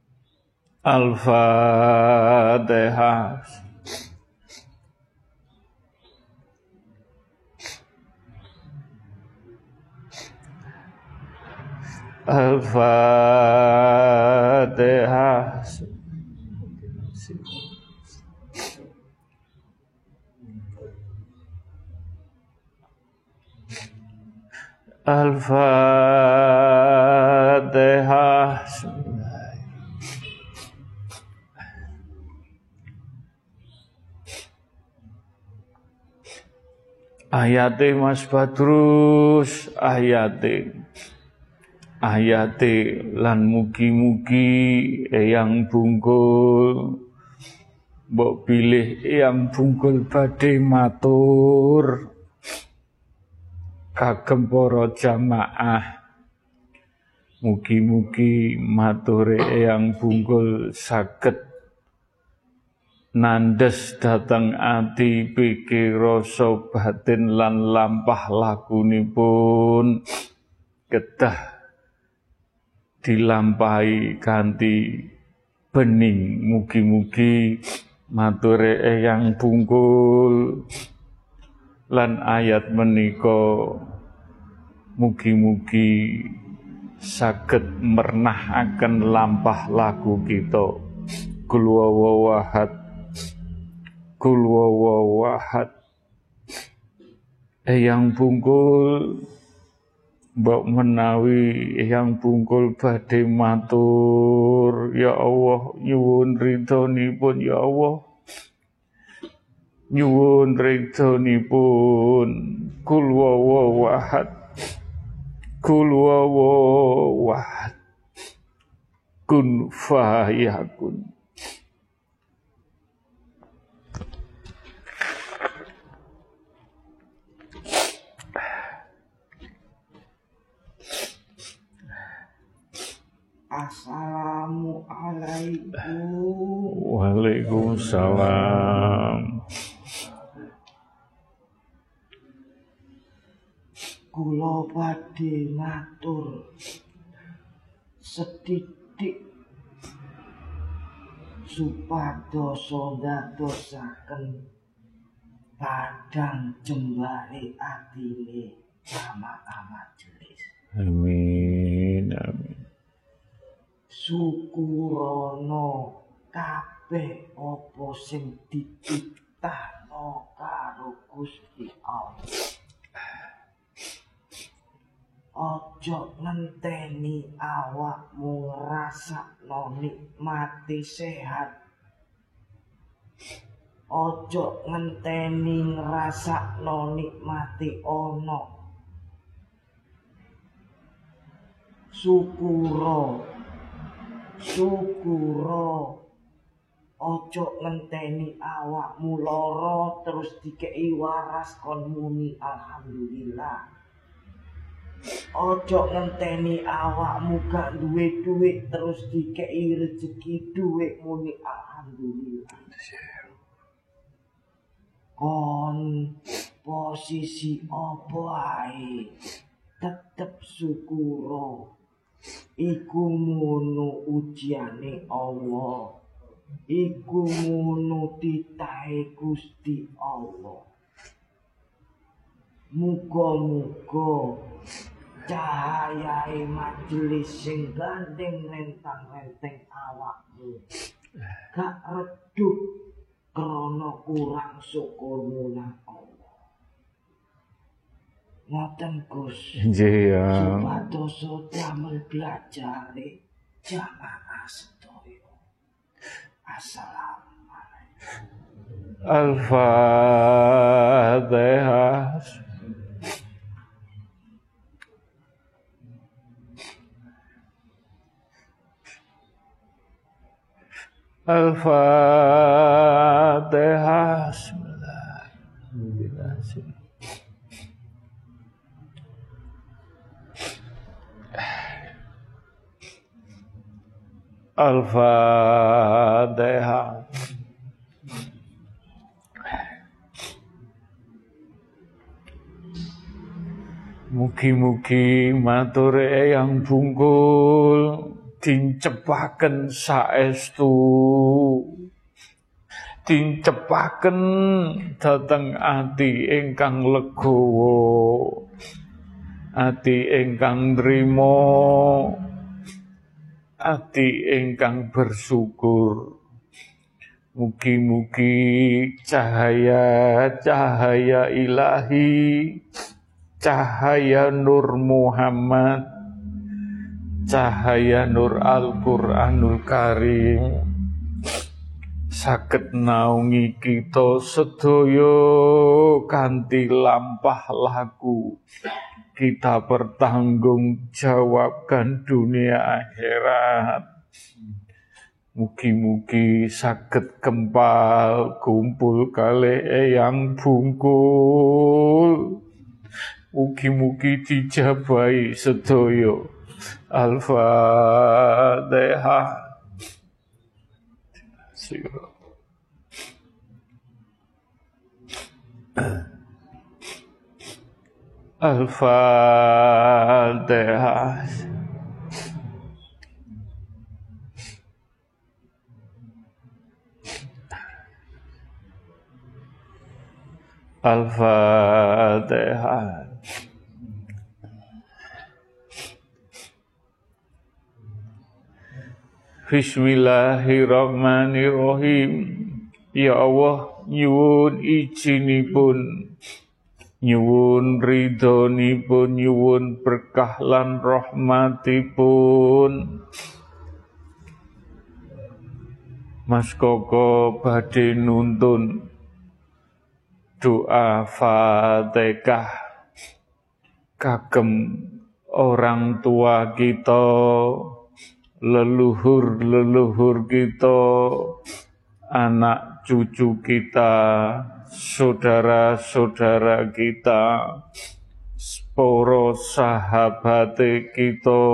Al-Fatihah. Al-Fatihah. Al-Fatihah. Ayate Mas Badrus, ayate lan mugi-mugi Eyang Bungkul mbok pilih Eyang Bungkul badhe matur kagem para jamaah. Mugi-mugi mature Eyang Bungkul saged nandes dhateng ati pikir rasa batin lan lampah lakunipun kedah dilampahi kanthi bening. Mugi-mugi mature Eyang Bungkul lan ayat menika mugi-mugi saged mernahaken lampah laku kita. Qul huwallahu ahad, Qul huwallahu ahad. Eyang Bungkul mbok menawi Eyang Bungkul badhe matur, ya Allah nyuwun ridhonipun, ya Allah nyuwun ridhonipun. Qul huwallahu ahad, Qul huwallahu ahad, kun fayakun. Assalamualaikum. Waalaikumsalam. Kula badhe matur setitik supados ndadosaken padang jembare atine jamaah majelis. Amin, amin. Syukurana kabeh apa sing dititahno karo Gusti Allah. Ojo ngenteni awakmu ngrasakno nikmati sehat. Ojo ngenteni ngrasakno nikmati ono. Syukuro. Ojo ngenteni awakmu lara terus dikei waras kon muni alhamdulillah. Ojo ngenteni awakmu gak duwe duit terus dikei rezeki duit muni alhamdulillah. Kon posisi apa ae tetep syukuro. Iku ngono ujiane Allah. Iku ngono titahe Gusti Allah. Muga-muga cahayae majelis sing gandeng rentang-renteng awakmu gak redup krana kurang syukurmu nang Allah. Ngoten Gus. Nggih ya. Supados damel belajar jamaah sedaya. Assalamualaikum. Al-Fatihah. Al-Fatihah. Bismillahirrahmanirrahim. Al-Fatihah. Mugi-mugi matur Eyang Bungkul dincepaken saestu, dincepaken dhateng ati ingkang legowo, ati ingkang nrimo, ati ingkang bersyukur. Mugi-mugi cahaya ilahi, cahaya Nur Muhammad, cahaya Nur Al-Quranul Karim saged naungi kita sedaya kanthi lampah laku. Kita bertanggungjawabkan dunia akhirat. Mugi-mugi saged kempal kumpul kalih Eyang Bungkul. Mugi-mugi dijabahi sedaya. Al-Fatihah. Al-Fatihah. Al-Fatihah. Bismillahirrahmanirrahim. Ya Allah, nyuwun ijinipun, nyuwun ridhonipun, nyuwun berkah lan rahmatipun. Mas Koko badhe nuntun doa Fatihah kagem orang tua kita, leluhur-leluhur kita, anak cucu kita, saudara-saudara kita, para sahabat kita,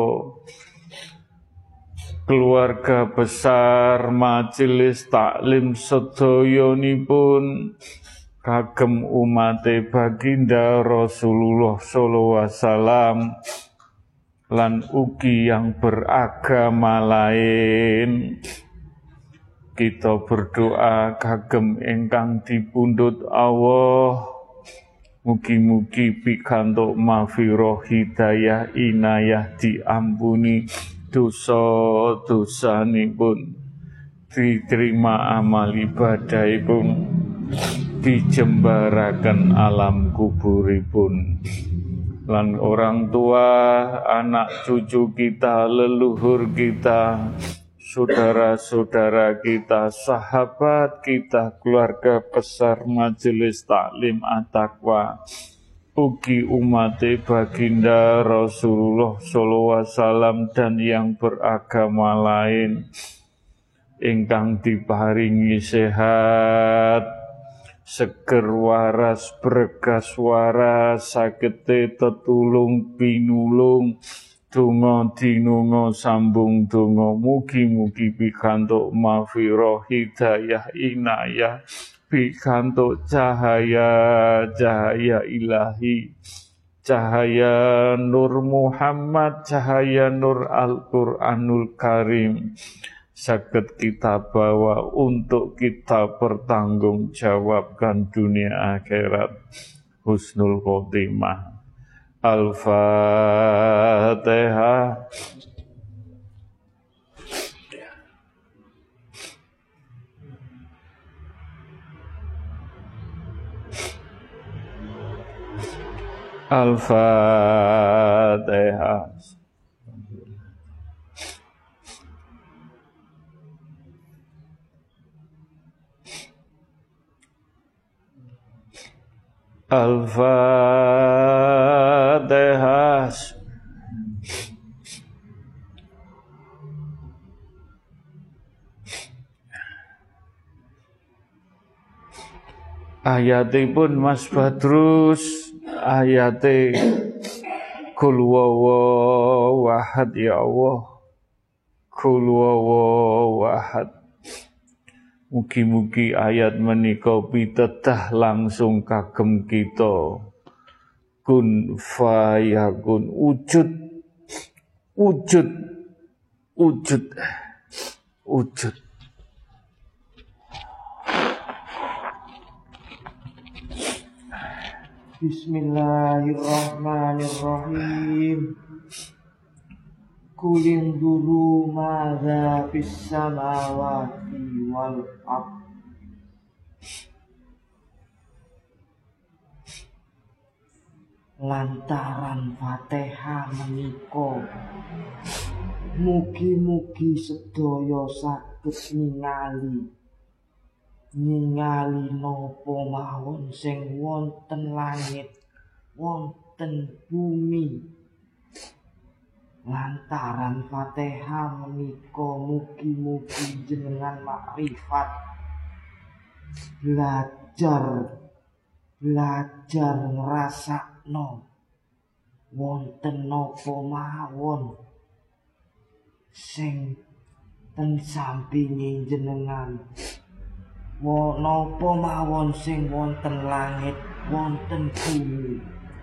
keluarga besar majelis taklim sedayanipun, kagem umate baginda Rasulullah sallallahu alaihi wasallam lan ugi yang beragama lain. Kita berdoa kagem ingkang dipundhut Allah, mugi-mugi pikantuk maghfirah hidayah inayah, diampuni dosa-dosanipun, diterima amal ibadahipun, dijembaraken alam kuburipun. lan orang tua, anak cucu kita, leluhur kita, saudara-saudara kita, sahabat kita, keluarga besar Majelis Taklim At-Taqwa, ugi umat baginda Rasulullah sallallahu alaihi wasallam dan yang beragama lain ingkang diparingi sehat, seger waras, bergas waras, sagete tetulung pinulung, donga dinunga sambung donga, mugi-mugi pikantuk maghfirah, hidayah, inayah, pikantuk cahaya ilahi, cahaya Nur Muhammad, cahaya Nur Al-Quranul Karim, saged kita bawa untuk kita pertanggungjawabkan dunia akhirat. Husnul khotimah. Al-Fatihah. Al-Fatihah. Al-Fatihah. Ayatipun Mas Badrus, ayate Qul huwallahu ahad, ya Allah. Qul huwallahu ahad. Mugi-mugi ayat menika pitedah langsung kagem kita. Kun fayakun, wujud. Bismillahirrahmanirrahim. Kulin dulu madza fis samawati wal ardh. Lantaran Fatihah menika, mugi-mugi sedaya saged ningali napa mawon sing wonten langit, wonten bumi. Lantaran Fatihah menika, mugi-mugi jenengan makrifat, belajar ngrasakno wonten napa mawon sing ten sampinge jenengan, napa mawon sing wonten langit, wonten bumi.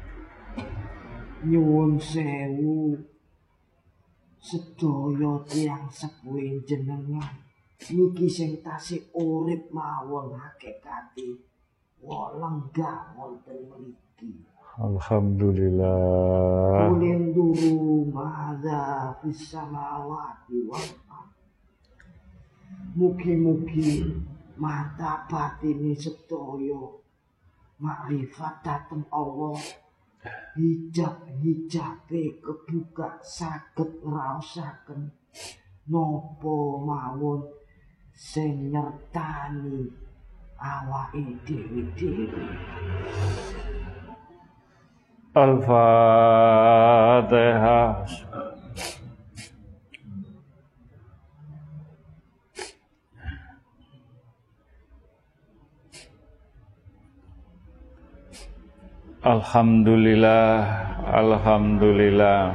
Nyuwun sewu sedaya tiyang sepuh jenengan niki sing tasih urip mawon hakikate lenggah wonten mriki. Alhamdulillah. Kulin duru madza fis samawati wal ardh. Mugi-mugi mata batine sedaya makrifat dhateng Allah, hijabe kebuka, saged ngraosaken napa mawon sing nyertani awake dhewe. Al-Fatihah. Alhamdulillah.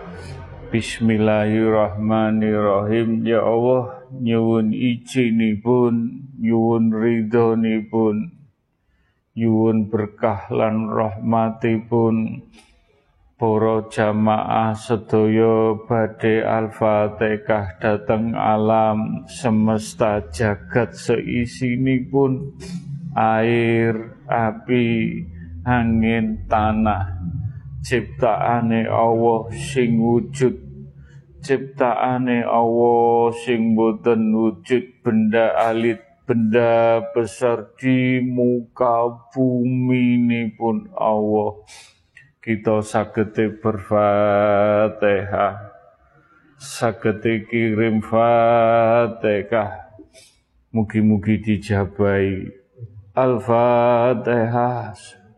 Bismillahirrahmanirrahim. Ya Allah, nyuwun izinipun, nyuwun ridhonipun, nyuwun berkah lan rahmatipun para jamaah sedaya badhe Al-Fatihah dhateng alam semesta jagat seisinipun, air, api, angin, tanah, ciptaane Allah sing wujud, ciptaane Allah sing boten wujud, benda alit, benda besar di muka bumi ini pun Allah. kita sagete berfatihah, sagete kirim fatihah, mugi-mugi dijabai. Al-Fatihah.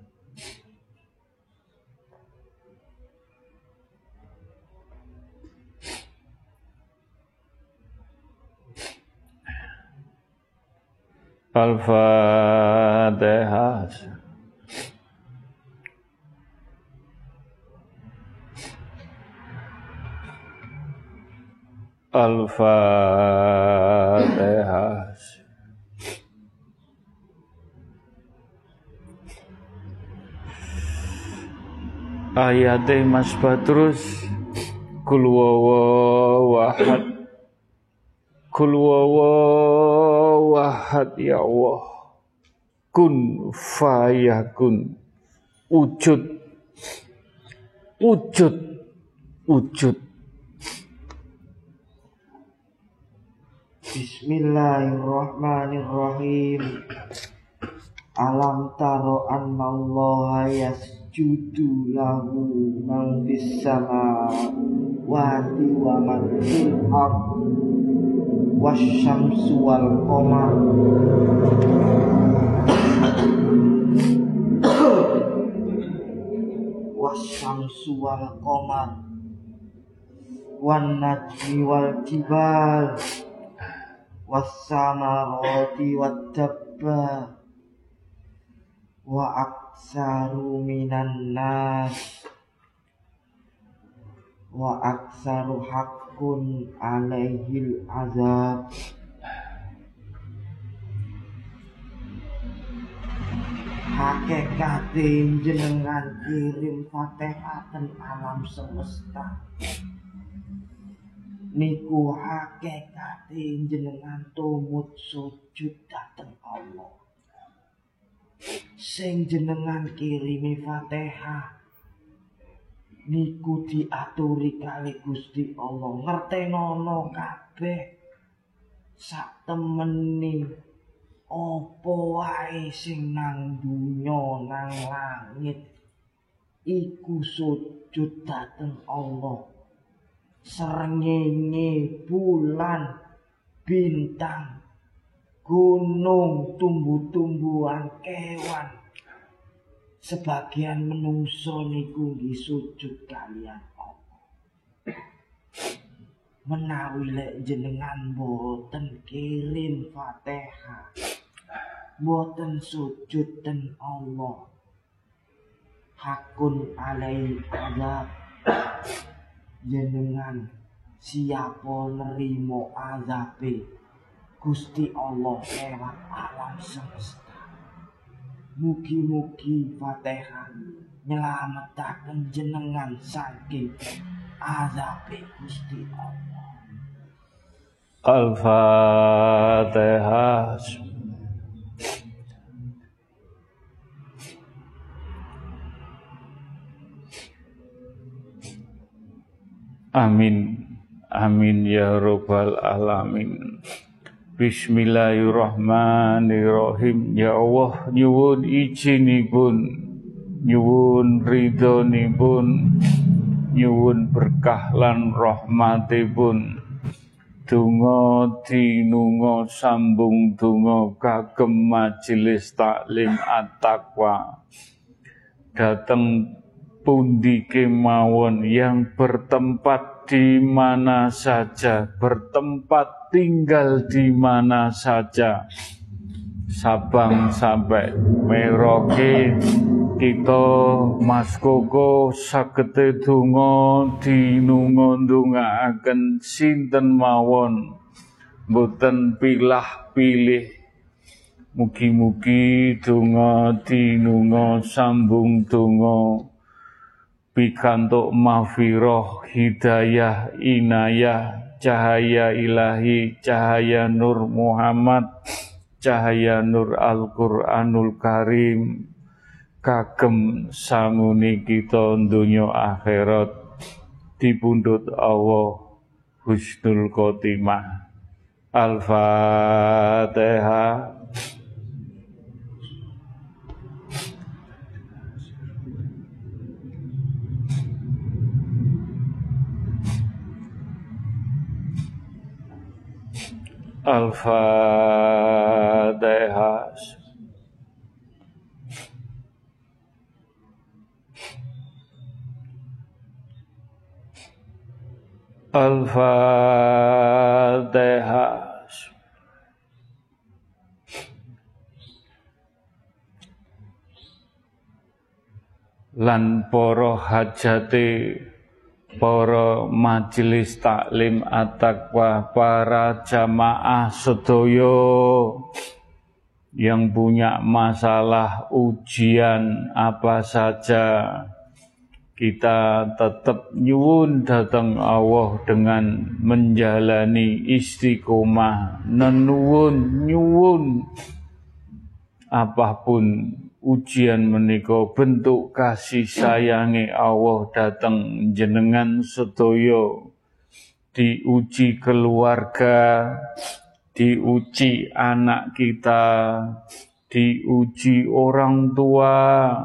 Al-Fatihah. Al-Fatihah. Ayate Mas Badrus, Kul wawawahad, Kul wawawahad ya Allah, kun fayakun, wujud, wujud, wujud. Bismillahirrahmanirrahim. Alam taro annallaha yasjudu lahu man fis samawati wa man fil ardh wasyamsu wal qamar wasyamsu wal qamar wan najmi wal jibal was-samarati wad-dabba wa aksaru minan nas wa aksaru haqqun alaihil azab. Hakikate jenengan kirim Fatihah ten alam semesta niku hakikate jenengan tumut sujud dateng Allah. Sing jenengan kirimi Fatihah niku diaturi kali Gusti Allah, ngertenono kabeh sak temeni apa wae sing nang dunya nang langit iku sujud dateng Allah. Srengenge, bulan, bintang, gunung, tumbuh-tumbuhan, kewan, sebagian menungso niku nggih sujud kalian Allah. Menawi lek jenengan boten kirim Fatihah, boten sujud ten Allah, hakun alai azab, jenengan siapa nerimo azabe Gusti Allah lewat alam semesta. Mugi-mugi Fatihah nyelametaken jenengan saking azabe Gusti Allah. Al-Fatihah. Amin, amin ya rabbal alamin. Bismillahirrahmanirrahim. Ya Allah, nyuwun izinipun, nyuwun ridhonipun, nyuwun berkah lan rahmatipun. Donga dinunga sambung donga kagem majelis taklim at-taqwa. Dateng pundi kemawon yang bertempat di mana saja, bertempat tinggal di mana saja, Sabang sampai Merauke, kita Mas Koko sagete donga dinunga-ndongaaken sinten mawon, mboten pilah-pilih. Mugi-mugi donga dinunga sambung donga pikantuk maghfirah, hidayah, inayah, cahaya ilahi, cahaya nur Muhammad, cahaya nur Al-Qur'anul Karim, kagem sanguni kita donya akhirat dipundhut Allah husnul khotimah. Al-Fatihah. Al-Fatihah. Al-Fatihah. Lan para hajate para majelis taklim at-taqwa, para jamaah sedaya yang punya masalah ujian apa saja, kita tetap nyuwun datang Allah dengan menjalani istiqomah, nyuwun apapun ujian menika bentuk kasih sayange Allah datang jenengan sedaya, diuji keluarga, diuji anak kita, diuji orang tua,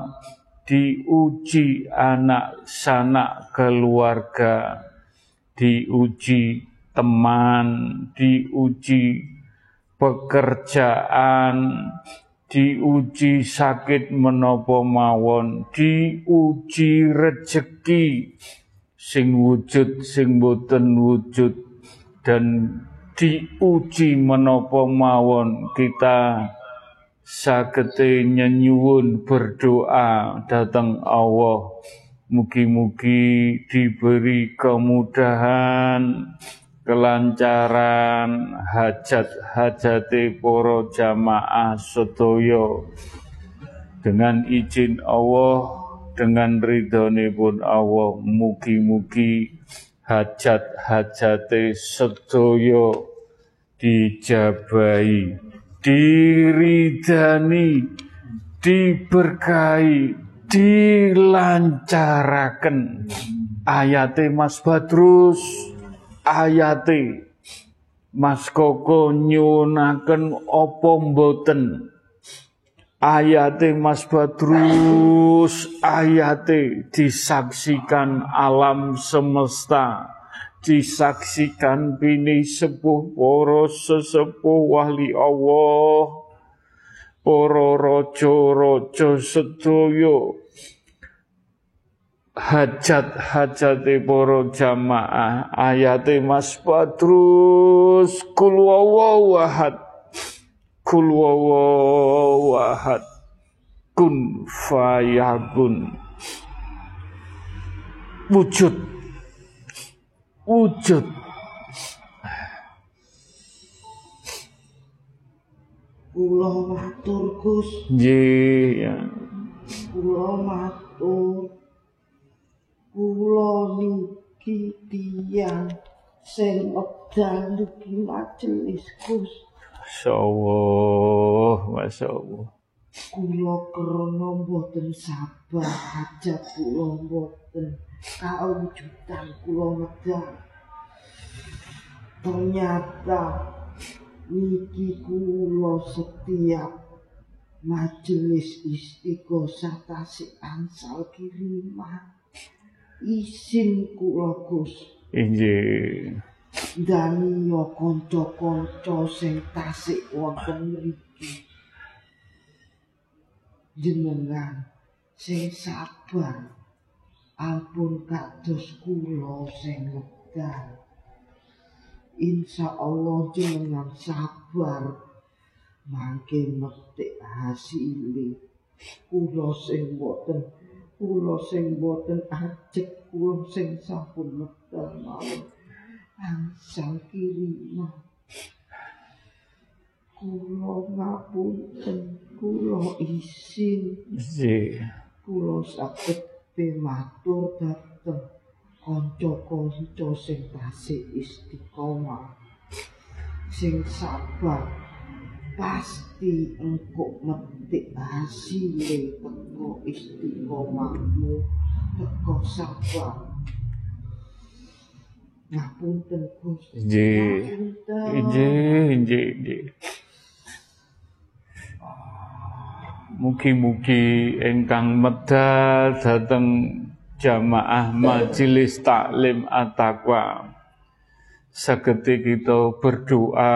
diuji anak sanak keluarga, diuji teman, diuji pekerjaan, diuji sakit menapa mawon, diuji rejeki sing wujud sing boten wujud, dan diuji menapa mawon kita sagete nyuwun berdoa dhateng Allah, mugi-mugi diberi kemudahan, kelancaran hajat-hajate para jamaah sedaya, dengan izin Allah, dengan ridhonipun Allah, mugi-mugi hajat-hajate sedaya dijabahi, diridani, diberkahi, dilancaraken. Ayate Mas Badrus, ayate Mas Koko nyuwunaken apa mboten? Ayate Mas Badrus, ayate disaksikan alam semesta, disaksikan bini sepuh para sesepuh wali Allah, para raja-raja sedaya, hajat-hajate para jamaah. Ayate Mas Badrus, kul huwallahu ahad, kul huwallahu ahad, kun fayakun, wujud. Kula matur Gus. Nggih, ya. Kula matur. Kula niki tiyang sing wekdal niki majelis Gus. Masyaallah. Kula krana mboten sabar, hajat kula mboten kawujudan kula wekdal. Ternyata niki kula setiap majelis istighosah tasik angsal kiriman isin kula Gus. Injih. Daniya kanca-kanca sing tasik wonten mriki. Jenengan sing sabar, ampun kados kula sing wekdal. Insyaallah jenengan sabar mangke metik hasile. Kula sing boten ajek, kula sing sampun wekdal mawon angsal kiriman. Kula ngapunten, kula isin. Kula saged matur dhateng kanca-kanca sing tasih istiqomah, sing sabar, pasti engko metik hasile teko istiqomahmu, teko sabar. Ngapunten Gus. Injih. Mugi-mugi ingkang medal dhateng jamaah majelis taklim at-taqwa sagete kita berdoa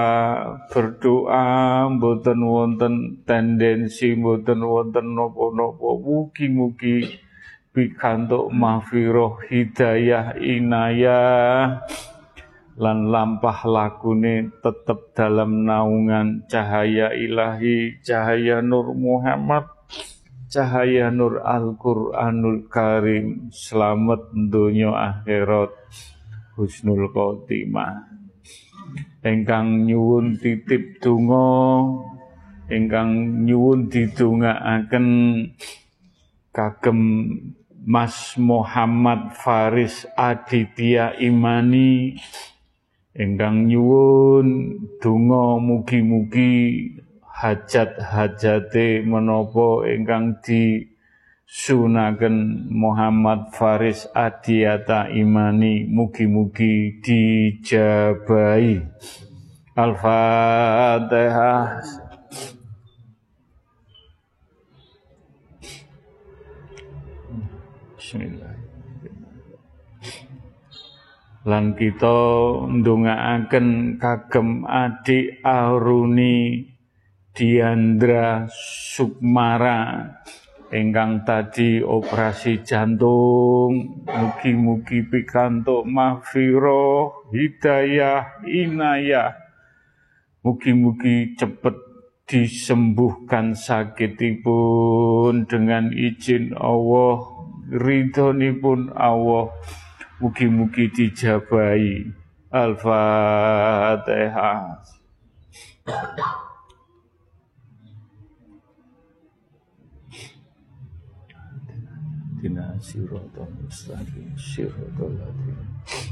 mboten wonten tendensi, mboten wonten napa-napa, mugi-mugi pikantuk mahfirah, hidayah, inayah lan lampah lakune tetep dalam naungan cahaya ilahi, cahaya Nur Muhammad, cahaya Nur Al-Qur'anul Karim, selamat donya akhirat, husnul khotimah. Ingkang nyuwun titip donga, ingkang nyuwun didongaaken kagem Mas Muhammad Faris Aditya Imani, ingkang nyuwun donga mugi-mugi hajat-hajate menapa ingkang disunaken Muhammad Faris Aditya Imani mugi-mugi dijabahi. Al-Fatihah. Bismillahirrahmanirrahim. Lan kita ndongaaken kagem adik Aruni Diandra Sukmara ingkang tadi operasi jantung, mugi-mugi pikantuk mahfirah, hidayah, inayah, mugi-mugi cepet disembuhkan sakitipun dengan izin Allah, ridhonipun Allah, mugi-mugi dijabahi. Al-Fatihah. Dina siratal mustaqim, siratal ladzina.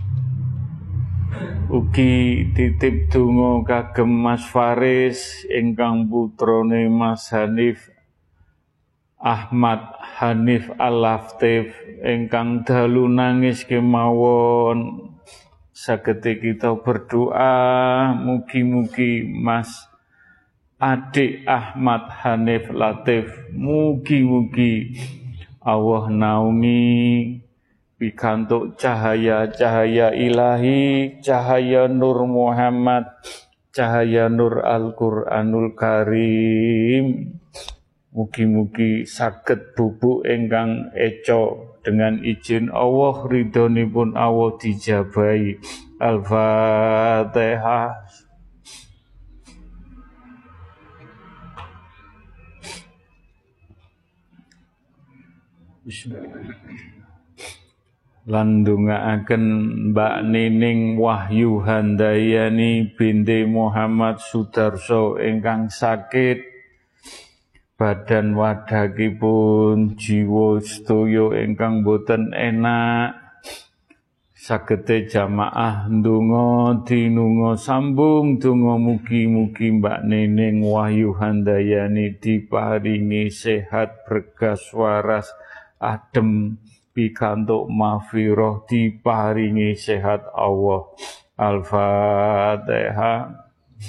Ugi titip donga kagem Mas Faris ingkang putrane Mas Hanif Ahmad Hanif Al-Laftif ingkang dalu nangis kemawon. Sagete kita berdoa mugi-mugi Mas adik Ahmad Hanif Latif, mugi-mugi Allah naungi pikantuk cahaya-cahaya ilahi, cahaya Nur Muhammad, cahaya Nur Al-Qur'anul Karim. Mugi-mugi saged bubuk ingkang eca dengan izin Allah, ridhonipun Allah dijabahi. Al-Fatihah. Bismillahirrahmanirrahim. Lan ndongaaken Mbak Nining Wahyu Handayani binti Muhammad Sudarso ingkang sakit badan wadhakipun, jiwa sedaya ingkang boten enak. Sagete jamaah ndonga dinunga sambung donga mugi-mugi Mbak Nining Wahyu Handayani diparingi sehat, berkas waras, adem, pikantuk mahfirah, diparingi sehat Allah. Al-Fatihah.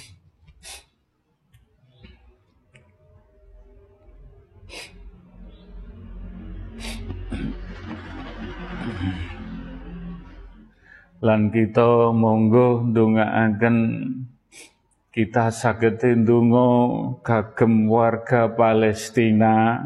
Lan kita monggo ndongaaken kita saged ndonga kagem warga Palestina.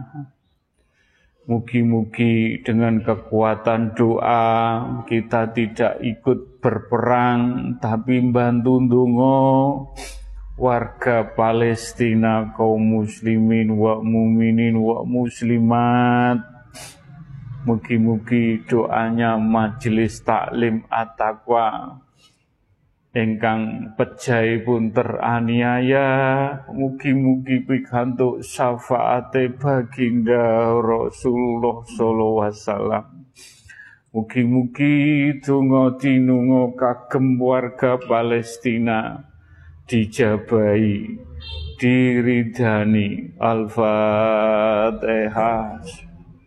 Mugi-mugi dengan kekuatan doa kita tidak ikut berperang, tapi bantu ndonga warga Palestina, kaum muslimin wa muminin wa muslimat. Mugi-mugi doanya Majelis Taklim At-Taqwa ingkang pejahipun teraniaya, mugi-mugi pikantuk syafaate baginda Rasulullah sallallahu alaihi wasallam. Mugi-mugi donga dinunga kagem warga Palestina dijabahi, diridani. Al-Fatihah.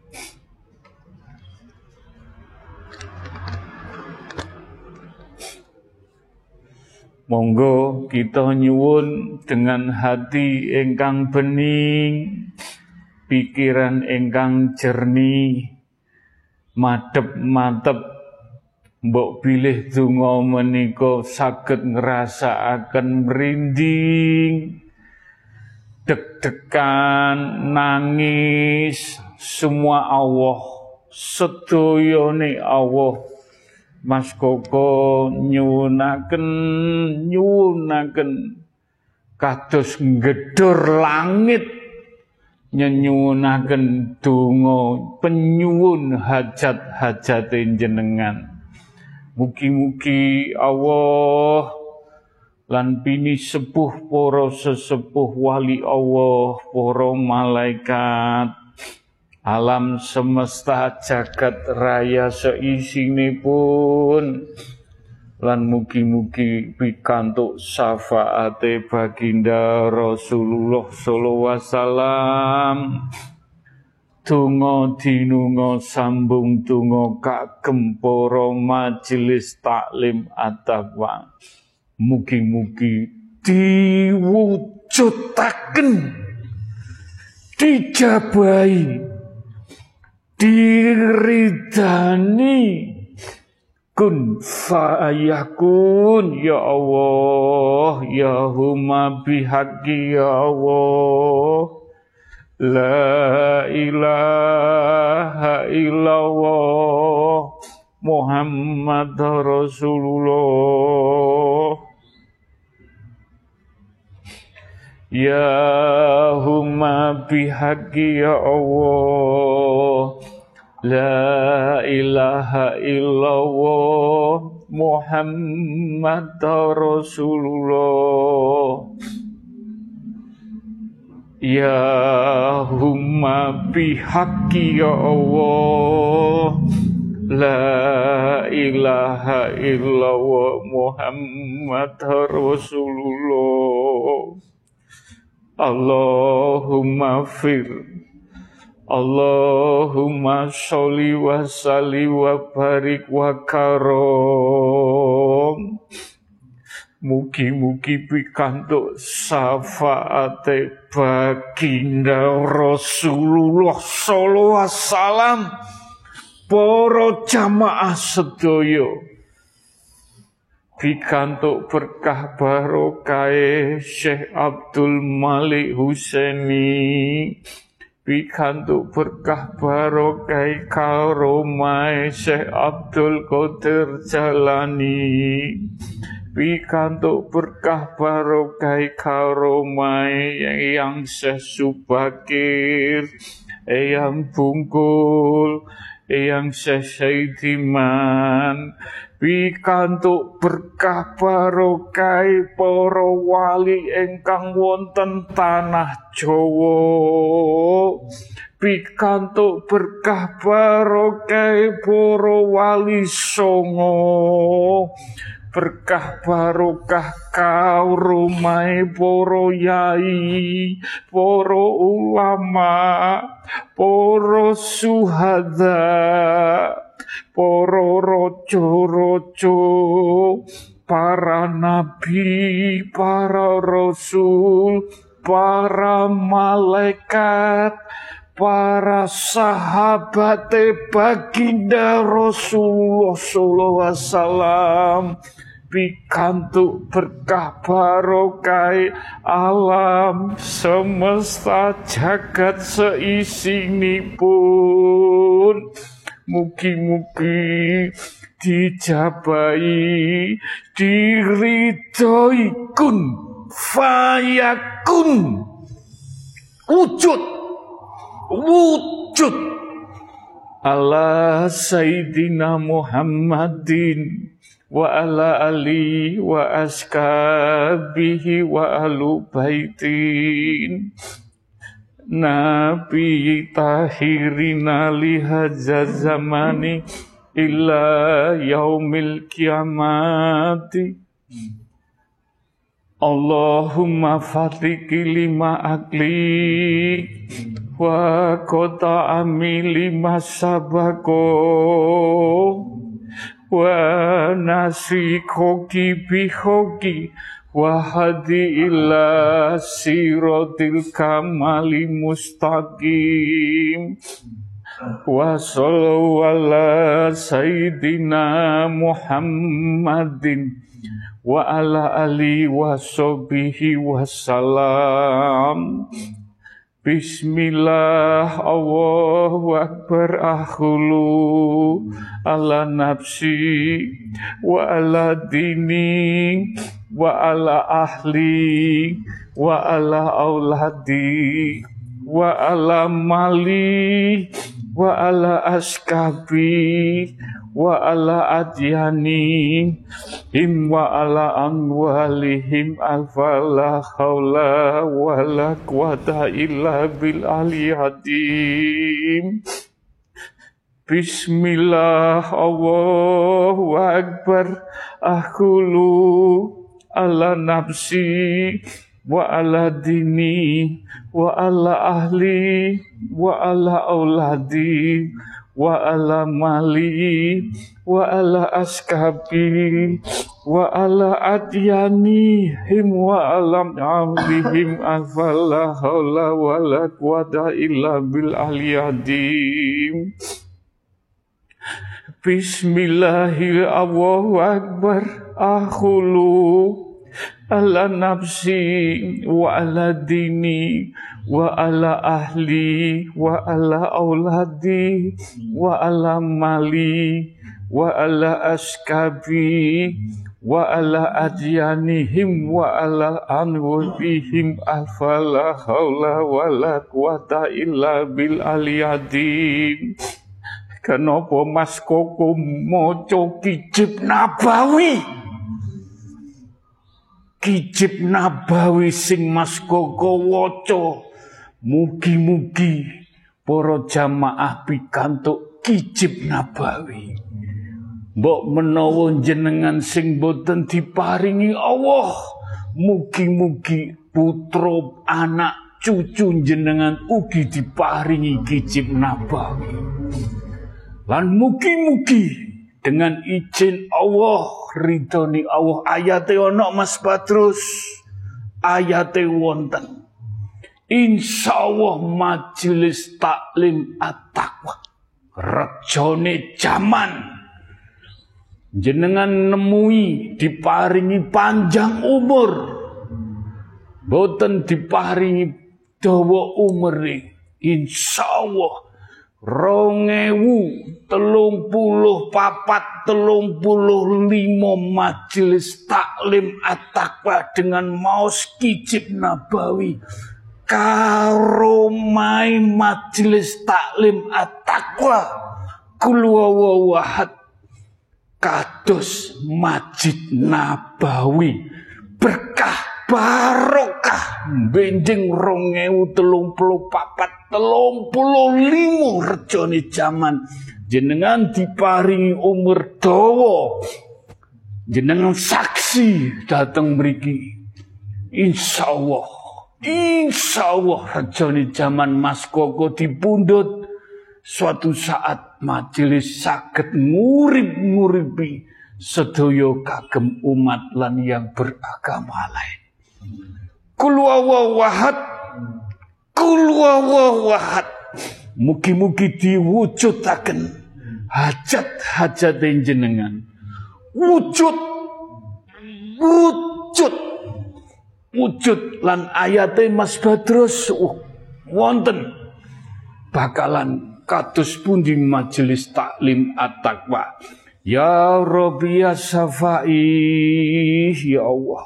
Monggo kita nyuwun dengan hati ingkang bening, pikiran ingkang jernih, madhep-madhep Mbok bilih donga menika saged ngrasakaken merinding, deg-degan, nangis, semua Allah, sedayane Allah. Mas Koko nyuwunaken kados nggedhor langit nyuwunaken donga penyuwun hajat-hajate jenengan. Mugi-mugi Allah lan bini sepuh para sesepuh wali Allah, para malaikat, alam semesta jagat raya seisinipun, lan mugi-mugi pikantuk syafaate baginda Rasulullah sallallahu alaihi wasallam. Donga dinunga sambung donga kagem para majelis taklim at-taqwa. Mugi-mugi diwujudaken, dijabahi, diridani, kun fayakun ya Allah, ya huma bihaqqi ya Allah. La ilaha illallah Muhammad Rasulullah. Ya huma bihaqqi ya Allah. La ilaha illallah Muhammad Rasulullah. Ya humma bihaqqi ya Allah. La ilaha illallah Muhammad Rasulullah. Allahumma fir, Allahumma sholli wa sallim wa barik wa karom. Mugi-mugi pikantuk syafaate baginda Rasulullah sallallahu alaihi wasallam, para jamaah sedaya. Pikantuk berkah barokah Syekh Abdul Malik Husaini, pikantuk berkah barokah karomah Syekh Abdul Qadir Jalani, pikantuk berkah barokah karomah yang Syekh Subakir, yang Bungkul, yang Syekh Saidiman, pikantuk berkah barokah para wali ingkang wonten tanah Jawa, pikantuk berkah barokah para wali songo, berkah barokah karumahe para yai, para ulama, para suhada, para raja-raja, para nabi, para rasul, para malaikat, para sahabat baginda Rasulullah sallallahu alaihi wasallam, pikantuk berkah barokah alam semesta jagat seisinipun. Mugi-mugi dijabahi, diridhoi, kun fayakun, wujud ala Sayyidina Muhammadin wa ala ali wa ashabihi wa alu baitin Nabi tahirina lihaza zamani illa yaumil kiamati. Allahumma fatiki lima akli wa kota amili masabako wa nasi koki bihoki wa hadi ila sirotil kamali mustaqim. wa sallallahu ala sayyidina Muhammadin wa ala alihi wa sahbihi wasallam. Bismillah, Allahu Akbar, akhulu ala nafsi wa ala dini wa ala ahli wa ala auladi wa ala mali wa ala askabi wa ala adyani him wa ala amwalihim alfala haula wa la quwata illa bil aliyadim. Bismillah, Allahu Akbar, akhulu ala nafsi wa ala dini wa ala ahli wa ala auladi wa ala mali wa ala askabi wa ala adyani him wa ala amrihim afala haula wa la quwata illa bil aliyadim. Bismillahirrahmanirrahim. Allahu Akbar, akhulu ala nafsi wa ala dini wa ala ahli wa ala auladi wa ala mali wa ala askabi wa ala adyanihim wa ala anwabihim afala haula wa la quwata illa bil aliyadim. Kenapa Mas Koko maca Kijib Nabawi? Kijib Nabawi sing Mas Koko waca, mugi-mugi para jamaah pikantuk Kijib Nabawi. Mbok menawa jenengan sing boten diparingi Allah, mugi-mugi putra anak cucu jenengan ugi diparingi Kijib Nabawi. Lan mugi-mugi dengan izin Allah, ridhoni Allah, ayate ono Mas Badrus, ayate wonten. Insyaallah majelis taklim at-taqwa rejone jaman jenengan nemui diparingi panjang umur, boten diparingi dawa umur, insyaallah 2034-35 majelis taklim at-taqwa dengan maos Kijib Nabawi karomai majelis taklim at-taqwa kul huwallahu ahad kados Masjid Nabawi, berkah barokah benjing 2034-35 rejone jaman jenengan diparingi umur dawa, jenengan saksi dateng mriki. Insyaallah rejone jaman Mas Koko dipundhut, suatu saat majelis saged ngurip-nguripi sedaya kagem umat lan yang beragama lain. Kul huwallahu ahad, kul huwallahu ahad. Mugi-mugi diwujudaken hajat-hajat jenengan. Wujud lan ayate Mas Badrus wonten bakalan kados pundi majelis taklim at-taqwa. Ya Rabbi ya Safai, ya Allah.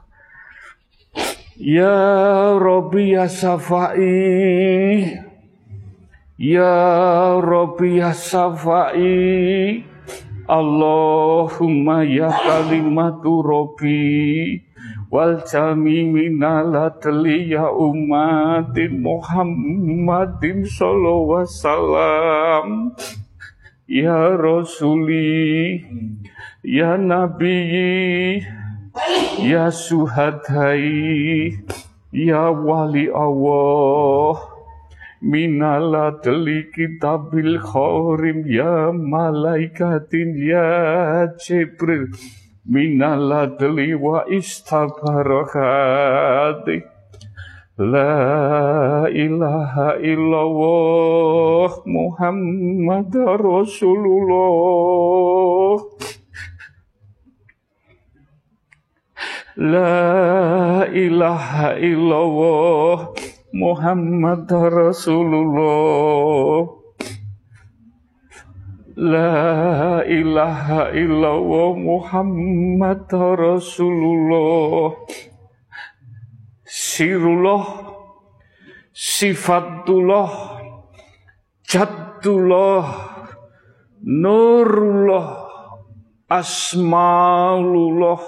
Ya Rabbi ya Safai, ya Rabbi ya Safai, Allahumma ya kalimatu Rabbi wal jami minalatli ya umatin Muhammadin sallallahu alaihi wasallam. Ya Rasuli, ya Nabi, ya Suhadai, ya Wali Allah, minaladli kitabil khorim, ya malaikatin, ya Jibril, minaladli wa istabarakati. La ilaha illallah Muhammad Rasulullah. La ilaha illallah Muhammad Rasulullah. La ilaha illallah Muhammad Rasulullah. Sirullah, sifatullah, jatullah, nurullah, asmaulullah,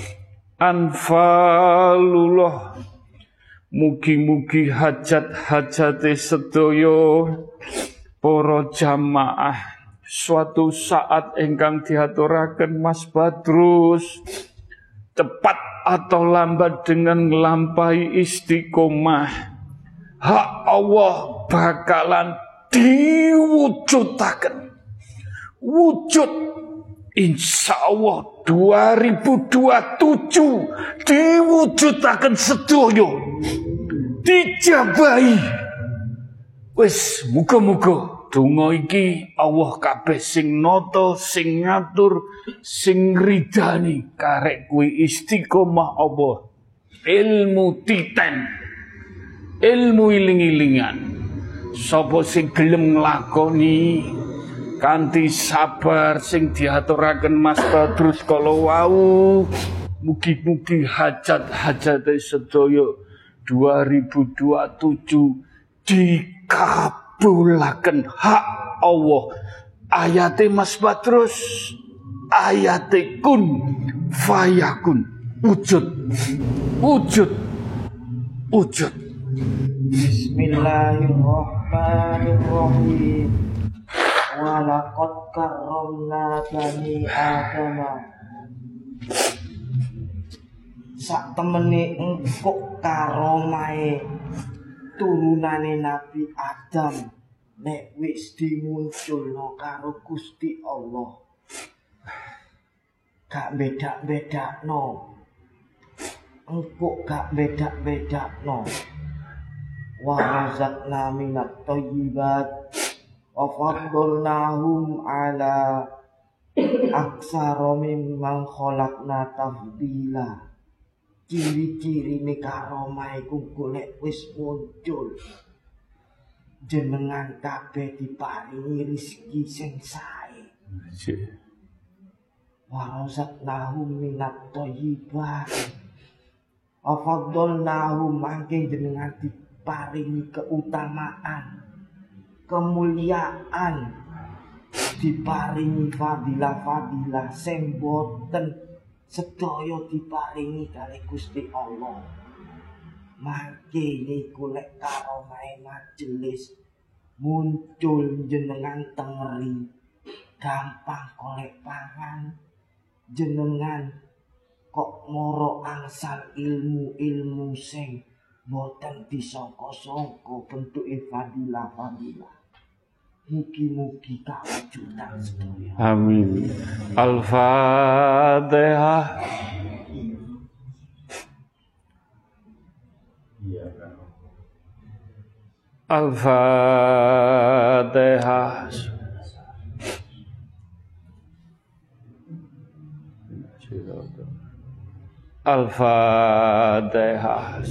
anfalullah. Mugi-mugi hajat-hajate sedaya para jamaah suatu saat ingkang diaturaken Mas Badrus cepat atau lambat dengan nglampahi istiqomah, hak Allah bakalan diwujudaken. Wujud insyaallah 2027 diwujudaken sedaya, dijabahi. Wis muga-muga donga iki Allah kabeh sing nata, sing ngatur, sing ridani karek kuwi istiqomah Allah. Ilmu titen, ilmu iling-ilingan. Sapa sing gelem nglakoni kanthi sabar sing diaturaken Mas Badrus kala wau, mugi-mugi hajat-hajate sedaya 2027 dikabulaken hak Allah. Ayate Mas Badrus, ayate kun fayakun, wujud, wujud, wujud. Bismillahirrahmanirrahim. Walaqad karramna bani Adama. Sak temene engkok karomahe turunane Nabi Adam nek wis dimunculno karo Gusti Allah, gak beda-bedakno. Engkok gak beda-bedakno. Wa razaqna minat thayyibat wa faddalnahum ala aksara mimman khalaqna tafdila. Ciri-ciri nih karomah iku golek wis muncul, jenengan kabeh diparingi rezeki sing sae. Wa razaqnahum minat thayyibat wa faddalnahum, mangke jenengan diparingi keutamaan, kemuliaan, diparingi fadilah-fadilah sing boten sedaya diparingi kali Gusti Allah. Mangke niku lek karomahe majelis muncul jenengan tengeri, gampang golek pangan, jenengan kok moro angsal ilmu-ilmu sing boten disangka-sangka bentuke fadilah-fadilah. Mugi-mugi kawujudan sedaya. Amin. Al-Fatihah. Al-Fatihah. Al-Fatihah.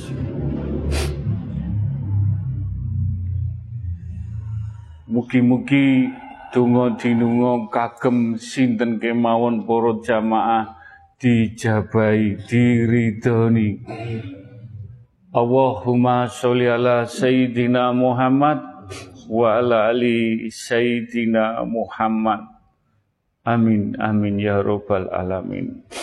Mugi-mugi donga dinunga kagem sinten kemawon para jamaah dijabahi, diridhoni. Allahumma sholli ala Sayyidina Muhammad wa ala ali Sayyidina Muhammad. Amin, amin ya rabbal alamin.